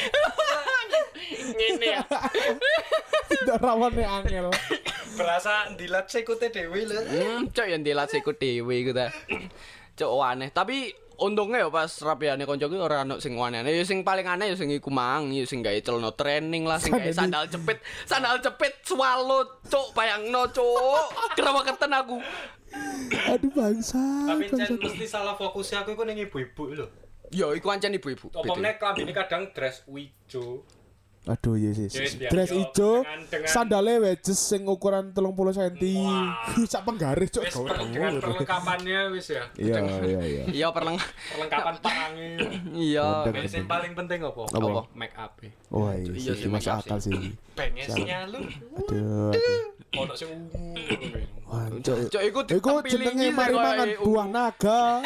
Ngene ya. Ndok rawone angel. Berasa dilat sikute dhewe lho. Cok yang dilat sikut dhewe iku ta. Cok aneh, tapi untungnya ya pas rapiane koncoku ora ono sing aneh. Ya sing paling aneh ya sing iku mang, ya sing gawe celana training lah, sing gawe sandal jepit swallow, cok bayangno cok. Kerawaketen aku. Aduh bangsa. Tapi Cen mesti salah fokusnya aku iku ning ibu-ibu lho. Yo iku ancen ibu-ibu. Opomne klambine kadang dress ijo. Aduh iya sih. Yes, Dress yo, ijo, dengan- sandale wedges sing ukuran 30 cm. Wah. Sak penggaris cok. Wis dengan perlengkapannya wis ya. Iya. Iya Perlengkapan pangange. Iya. Kondang. Sing paling penting apa? Apa? Make up. Wah, Iya iya sih, sih masuk make up akal sih. Pengesnya lu. Aduh. Ono sing ungu. Wah, cok. Cok iku Iku jenenge mari mangan buah naga.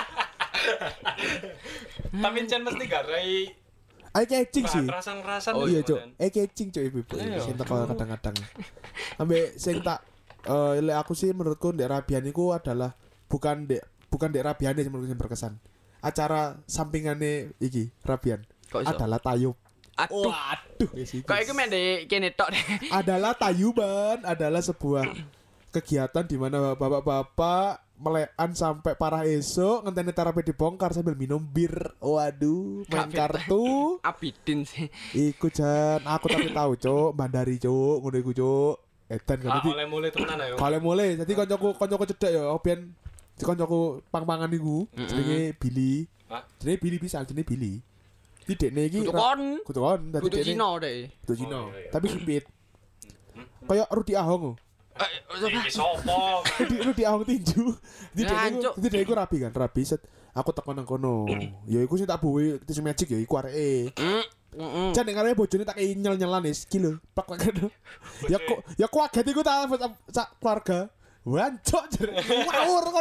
Tapi Cen mesti garai Ayo kecing sih. rasan-rasan. Oh iya cok. Kecing cok ibu. Sing teko kadang-kadang. Ambek sing tak lek aku sih menurutku ndek rabian iku adalah bukan ndek rabiane sing menurutku sing berkesan. Acara sampingane iki rabian Kok iso? adalah tayub. Aduh. Waduh, Kok iku mek ndek kene tok deh. adalah tayuban adalah sebuah kegiatan di mana bapak-bapak melekan sampai parah esok ngenteni terapi dibongkar sambil minum bir. Waduh, main kartu. Abidin sih. Iku jan, aku tapi tahu cuk, Bandari cuk, ngono iku cuk. Edan kan dadi. Oleh mulai temenan ayo. Kale mulai, dadi kancaku cedek ya, ben kancaku pang-pangan iku jenenge Billy. Hah? Jenenge Billy bisa, jenenge Billy. Tidekne iki kudu kon, dadi Kudu dekne Cina deh. kudu Cina. Oh, iya. Tapi sipit. Kayak Rudi Ahong. Iki sopo? Rudi Ahong tinju. Jancuk. Jadi iku rapi kan, rapi set. Aku teko nang kono. Ya iku sing tak buwe tisu magic ya iku areke. Jan nek areke bojone tak nyel-nyelan wis iki lho. Plak kono. Ya kok kaget iku tak sak keluarga. Wancok jere. Ngawur kon.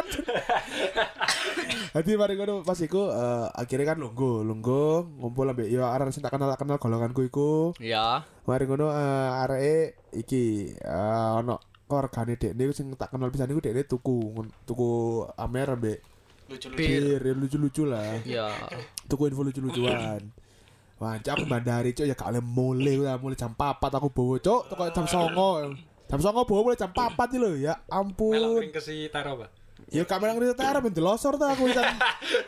Dadi mari ngono pas iku akhirnya kan lungguh ngumpul ambek ya arek sing tak kenal golonganku iku. Ya. Mari ngono areke iki ono keluargane dekne sing tak kenal pisan iku dekne tuku amer ambek bir lucu-lucu lah. Ya. Tuku info lucu-lucuan. Wah, aku bandari cuk ya gak oleh mulai jam 4 aku bawa cuk teko jam 09. Jam 09 bawa mulai jam 4 iki lho ya Melok ampun. ring ke si Taro, Pak. Ya kamera ngerti tara ben delosor ta aku kan.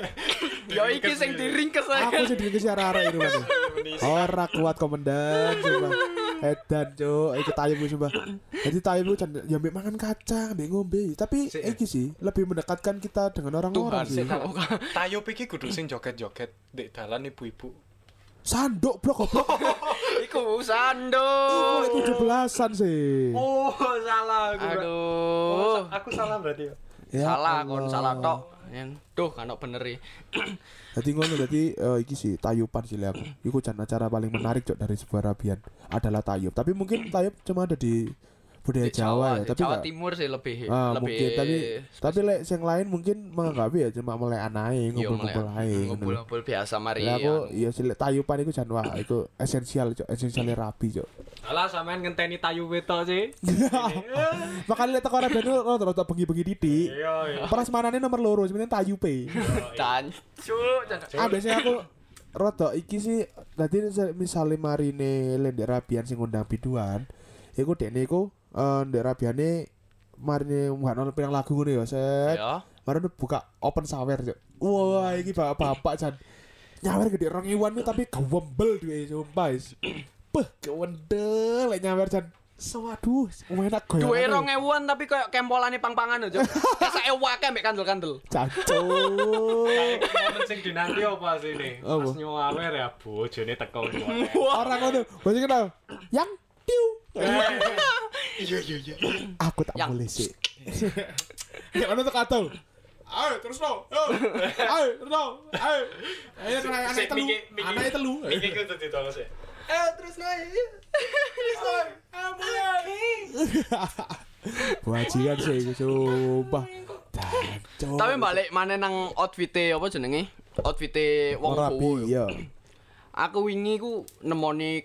Yo iki sing diringkes Aku sing diringkes arek-arek itu kan. Ora kuat komandan sumpah. Edan cuk, iki tayu sumpah. Jadi tayu jan ya mbek mangan kacang, mbek ngombe. Tapi iki sih lebih mendekatkan kita dengan orang-orang sih. Tayo iki kudu sing joget-joget ndek dalan ibu-ibu. Sandok blok goblok. Iku Iku sandok. lek 17-an sih. Oh, salah aku. Aduh. Aku salah berarti ya. Ya Salah Allah. kon salah tok. Duh, kan bener iki. Dadi ngono dadi iki sih tayupan sih lek aku. Iku jan acara paling menarik cok dari sebuah rabian adalah tayub. Tapi mungkin tayub cuma ada di budaya Jawa ya, tapi Jawa enggak. Timur sih lebih Mungkin tapi lek yang lain mungkin menganggap ya cuma mulai anae ngumpul-ngumpul ae. ngumpul-ngumpul biasa mari. Lah aku iya sih lek tayupan iku jan wah iku esensial cok, esensiale rabi cok. Alah sampean ngenteni tayu wetok sih. Makanya lek teko rabian itu rada bengi-bengi titik. Iya. Prasmanane nomor loro sebenarnya tayupe. Cancuk. Biasanya aku rada iki sih dadi misale marine lendek rabian sing ngundang biduan, iku dekne iku ndek rabiane marine ngono pirang lagu ngono ya set. Ya. Mari buka open sawer cuk. Wah, iki bapak-bapak jan nyawer gede 2000-an tapi gawembel duwe sumpah wis. Beh, gawendel lek nyawer jan. Waduh, enak goyangan. Duwe 2000-an tapi koyo kempolane pang-pangan aja. Sake wake mbek kandel-kandel. Cacuk. Momen sing dinanti apa sih ini? Apa? Pas nyawer ya bojone teko. Orang ngono, bocah kenal. Yang tiu. Iya. Aku tak Yang- boleh sih. Ya ono tek atau. Ayo terus no. Ayo terus no. Ayo. Ayo anak telu. Iki kudu ditolong sih. Terus naik. Bajingan sih iku sumpah. Dancuk. Tapi balik mana nang outfit-e apa jenenge? Outfit-e wong rapi Bowo. ya. Aku wingi ku nemoni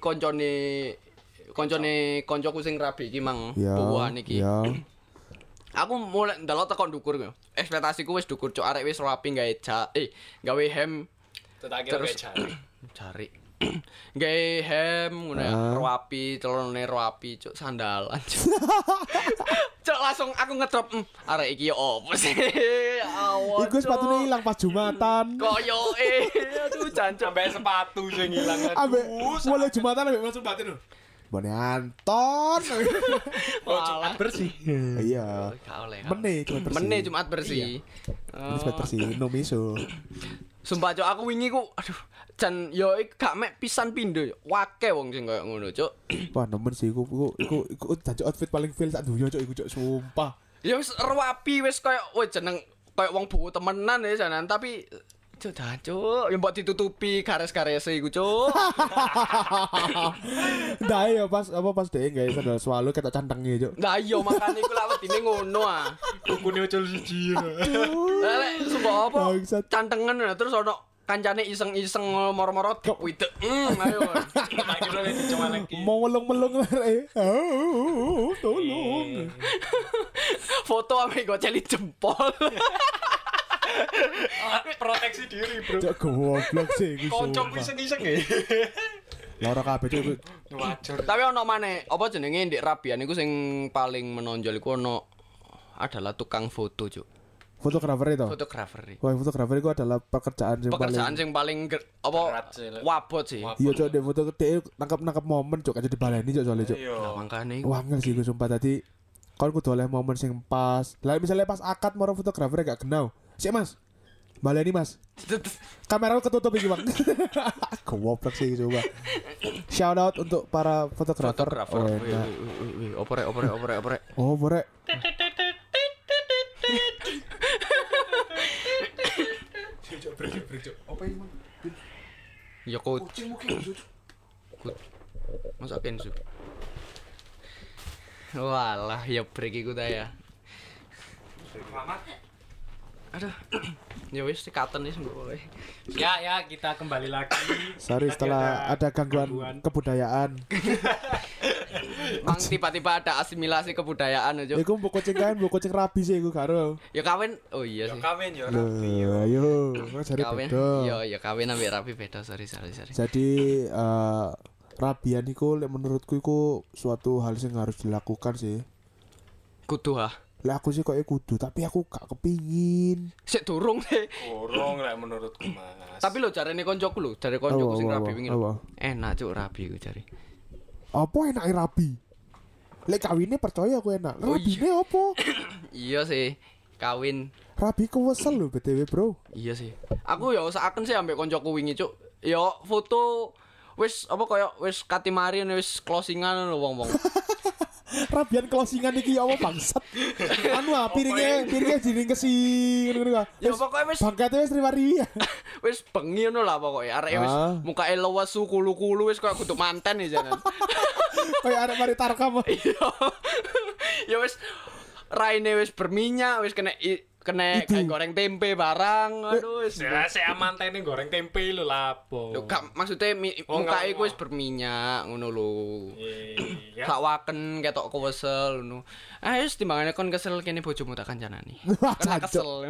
koncoku sing rabi iki mang Ya. Bowoan iki. Ya. Aku mulai ndelok tekan dukur ku. Ekspektasiku wis dukur cuk arek wis rapi gawe hem Terus cari. Gawe hem ngono ya, rapi, celana rapi cuk sandalan cuk. Cuk langsung aku ngedrop arek iki yo opo sih? Awon. Iku sepatune ilang pas Jumatan. Koyoke aduh jancuk sampai sepatu sing ilang. Ambek mulai Jumatan ambek masuk batin lho. Bone Anton. Jumat bersih. Iya. Gak oleh. Mene Jumat bersih. Ini Jumat bersih, no miso. Sumpah cuk aku wingi ku aduh jan yo gak mek pisan pindho wake wong sing koyo ngono cuk. Wah, nemen sih iku jancuk outfit paling feel sak dunya cuk iku cuk sumpah. Ya wis rapi wis koyo jeneng koyo wong Bowo temenan ya janan tapi cuk jancuk ya mbok ditutupi garis-garis iku cuk. Nah ya pas dhek gawe sandal swallow ketok cantenge cuk. Lah iya makane iku lak wedine ngono ah. Kukune ocol siji. Lah lek sumpah apa Bangsat. cantengen terus ono kancane iseng-iseng moro-moro widek. Ayo. Lagi lho cuma lagi. Mau melung-melung arek. Tolong. Foto ame goceli jempol. Proteksi diri, Bro. Cuk goblok sih iku. Koncoku iseng-iseng ya. Lara kabeh cuk. Wajar. Tapi ono maneh apa jenenge Ndek Rabian iku sing paling menonjol iku ono adalah tukang foto, Cuk. Fotografer itu. Fotografer. Wah, fotografer itu adalah pekerjaan Sing paling apa berat sih, Lek. wabot sih. Iya cok, dek foto gede nangkep momen cok aja dibaleni cok soalnya cok. Nah, makane iku. Wangel sih gue sumpah tadi. Kon kudu oleh momen sing pas. Lah misalnya pas akad moro fotografer gak kenal. Sik Mas. Baleni Mas. Kamera ketutup iki, Bang. Goblok sih coba. Shout out untuk para fotografer. Oh, enak. Oprek. Oh, borek. Apa ini, Bang? Ya kucing mungkin. Masa kensu. Walah, ya break iku ta ya. Selamat. Aduh. Ya wis dikaten wis mbok kowe. Ya, kita kembali lagi. Sorry setelah ada gangguan kebudayaan. Mang tiba-tiba ada asimilasi kebudayaan aja. Iku mbok kucing rabi sih iku karo. Ya kawin. Oh iya sih. Kawin yo. Loh, ayo, cari Kawin. beda. Ya kawin ambek rapi beda. Sorry. Jadi rabian iku lek menurutku iku suatu hal yang harus dilakukan sih. Kudu ah. Lek aku sih kok kudu, tapi aku gak kepingin. Sik durung sih. Kurang lah menurutku, Mas. Tapi lho jarene koncoku lho, jare koncoku sing rabi wingi. Apa? Enak cuk rabi ku jare. Apa enake rabi? Lek kawinnya percaya aku enak. Oh, Rabine apa? Iya sih. Kawin. Rabi kewesel lho BTW, Bro. Iya sih. Aku ya usahaken sih ambek koncoku wingi cuk. Ya foto wis apa kaya wis katimari wis closingan lho wong-wong. Rabian closingan iki apa bangsat? Anu piringnya diringkesi ngono ka. Ya pokoknya wis Bangkate wis riwari. wis bengi ngono lah pokoke. Areke wis mukae lesu kulu-kulu wis kaya kudu manten ya janan. Kayak arek mari tarkam. Iya. Ya wis raine wis berminyak, wis kena kayak goreng tempe barang. Aduh wis. Ya, saya mantene goreng tempe lho lapo. Lho gak maksudnya mukae ku wis berminyak ngono lho. Iya. Sak waken ketok kewesel ngono. Ah wis timbangane kon kesel kene bojomu tak kancanani. Kan kesel.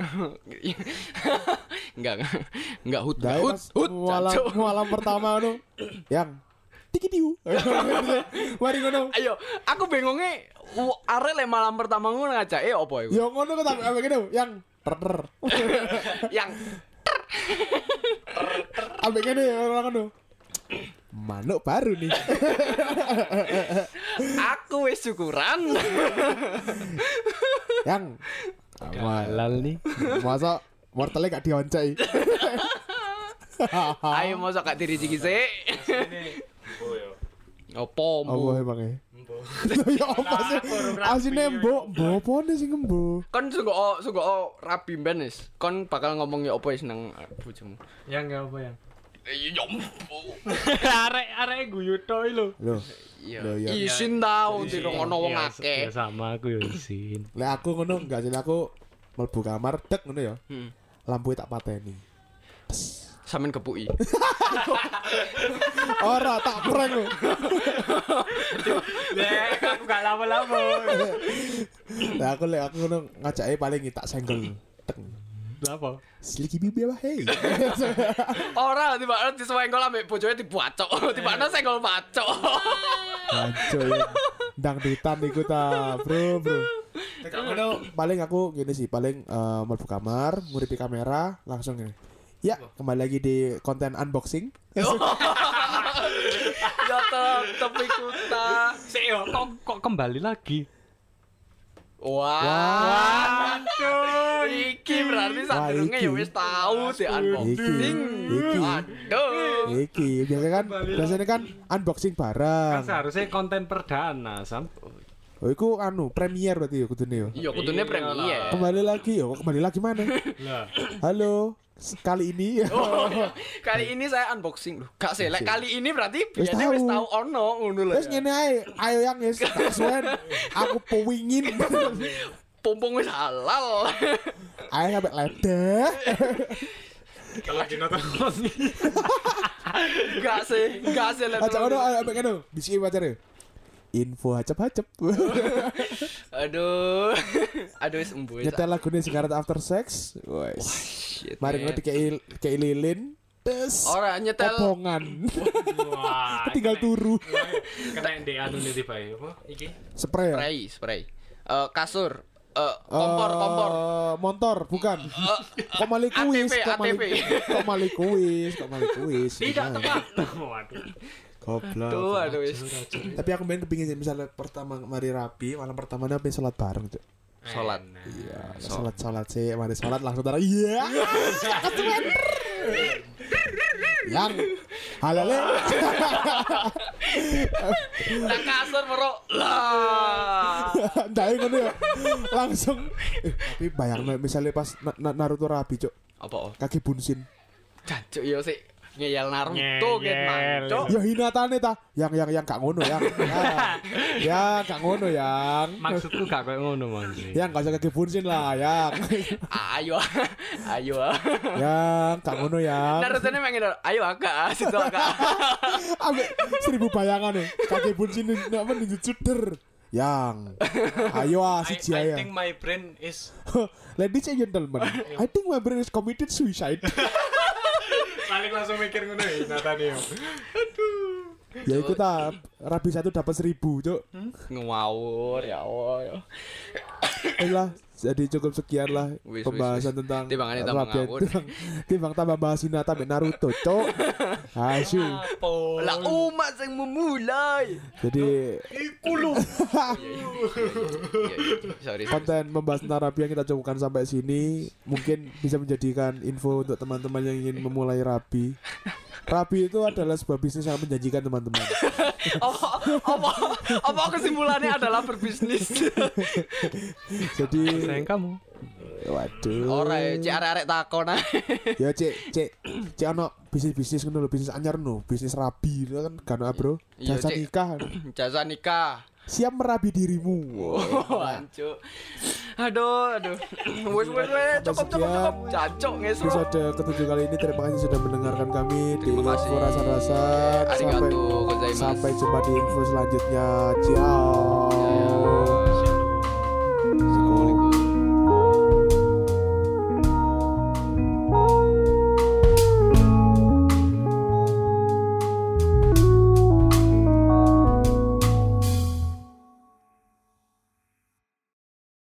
Enggak hut. Malam pertama ngono. Yang tikitiu. Mari ngono. Ayo, aku bingungnya arek lek malam pertama ngono ngajake apa iku? Ya ngono kok tak ngene yang ter. Yang Ambek ngene ora ngono. Manuk baru nih. aku wis syukuran. Yang walal nih. Masa wortelnya gak dioncai. Ayo mosok gak diriciki sik. Oh yo. Opo Apa mbo? emangnya? Mbok. Ya apa sih? Asine mbok, mbok apa nih sing mbok? Kon sungguh rabi ben wis. Kon bakal ngomong ya opo wis nang bojomu. Yang enggak apa yang? Ya mbo. Arek guyu tok lho. Loh, Iya. Loh, iya. Isin tau tidak ngono wong Ya akeh. sama aku ya isin. lek aku ngono enggak sih aku mlebu kamar dek ngono ya. Lampu tak pateni. Sampeyan kepuki. Ora tak prank lho. Aku gak lama-lama. Lah aku ngono ngajake paling tak senggol. Tek. Apa? Sliki bibi apa hei. Ora tiba-tiba disenggol ambek bojone dibacok. Tiba-tiba senggol bacok. Anco ya. Dangdutan iku ta, bro. Nek ngono paling aku gini sih, paling mlebu kamar, nguripi kamera, langsung gini. Ya, kembali lagi di konten unboxing. Ya tetep ikutan. Sik yo, kok kembali lagi? Wah. Iki berarti sadurunge ya wis tau di unboxing. Iki. Aduh. Iki biasanya kan unboxing Kan barang. seharusnya konten perdana, Sam. Oh, iku premier berarti ya kudune ya. Iya kudune premier. Kembali lagi mana? Lah, Halo. Kali ini Oh, kali ini saya unboxing. Loh, gak sih, kali ini berarti Wis biasanya wis tahu. tau ono ngono lho. Terus ngene ae, ayo yang wis kasuwen. Aku pewingin. Pompong wis halal. Ayo sampe ledeh. lagi nonton. Gak sih lah. Aja ngono ayo ambek ngono. Bisi pacare. Info hacep-hacep. Aduh. Aduh wis embu wis. Nyetel lagune Cigarette After Sex. Wes. Shit, Mari ngono dikei lilin. Tes. Ora nyetel. Obongan. Wah, Tinggal turu. kena ndek anu nih tiba ya. Apa iki? Spray ya? Spray. Kasur. Kompor. Motor bukan. Kok malah kuis, ATV. kok malah kuis. Tidak tepat. Waduh. Goblok. Aduh wis. Tapi aku main kepingin sih, misalnya pertama mari rapi, malam pertama pengen sholat bareng tuh. Salat. Iya, sholat sih, mari sholat langsung darah. Iya. Yang halale. Nang kasur mero. Lah. Ndake ngono ya. Langsung tapi bayangno misalnya pas Naruto rapi, Cuk. Apa? Kaki bunsin. Jancuk yo sik ngeyel Naruto ket mancuk. Ya hinatane ta. Yang gak ngono yang. Ya gak ngono yang. Maksudku gak kayak ngono, Mas. Yang gak usah kaki bunsin lah, yang. Ayo. Yang gak ngono yang. Naruto-ne mengen ayo agak situ agak. Ambek 1000 bayangan nih. Kaki bunsin nek men cuder. Yang. Ayo siji I ae. think my brain is Ladies and gentlemen, I think my brain is committed suicide. paling langsung mikir ngono ya Nathan yo. Ya ikut rabi 1 dapat 1000, Cuk. Ngawur ya Allah. Lah, jadi cukup sekian lah Wis, pembahasan tentang Timbangane tambah Rabian. ngawur. Timbang tambah bahas Hinata mbek Naruto, Cuk. Asyik. Lah umat sing memulai. Jadi Iku lho. Sorry. konten membahas tentang rabi yang kita cukupkan sampai sini mungkin bisa menjadikan info untuk teman-teman yang ingin memulai rabi. Rabi itu adalah sebuah bisnis yang menjanjikan, teman-teman. Apa kesimpulannya adalah berbisnis? Jadi Sayang kamu. waduh. Ora ya, cek arek-arek takon ae. Ya cek ono bisnis ngono lho, bisnis anyar no, bisnis rabi itu kan kan bro. Iya, Jasa Cek. nikah. Jasa nikah. Siap merabi dirimu. Hancur. Aduh. Wes cukup. Cancok ngesro. Episode ketujuh kali ini terima kasih sudah mendengarkan kami di Terima kasih. Info Rasa-Rasa. Arigato gozaimasu. Sampai jumpa di info selanjutnya. Ciao.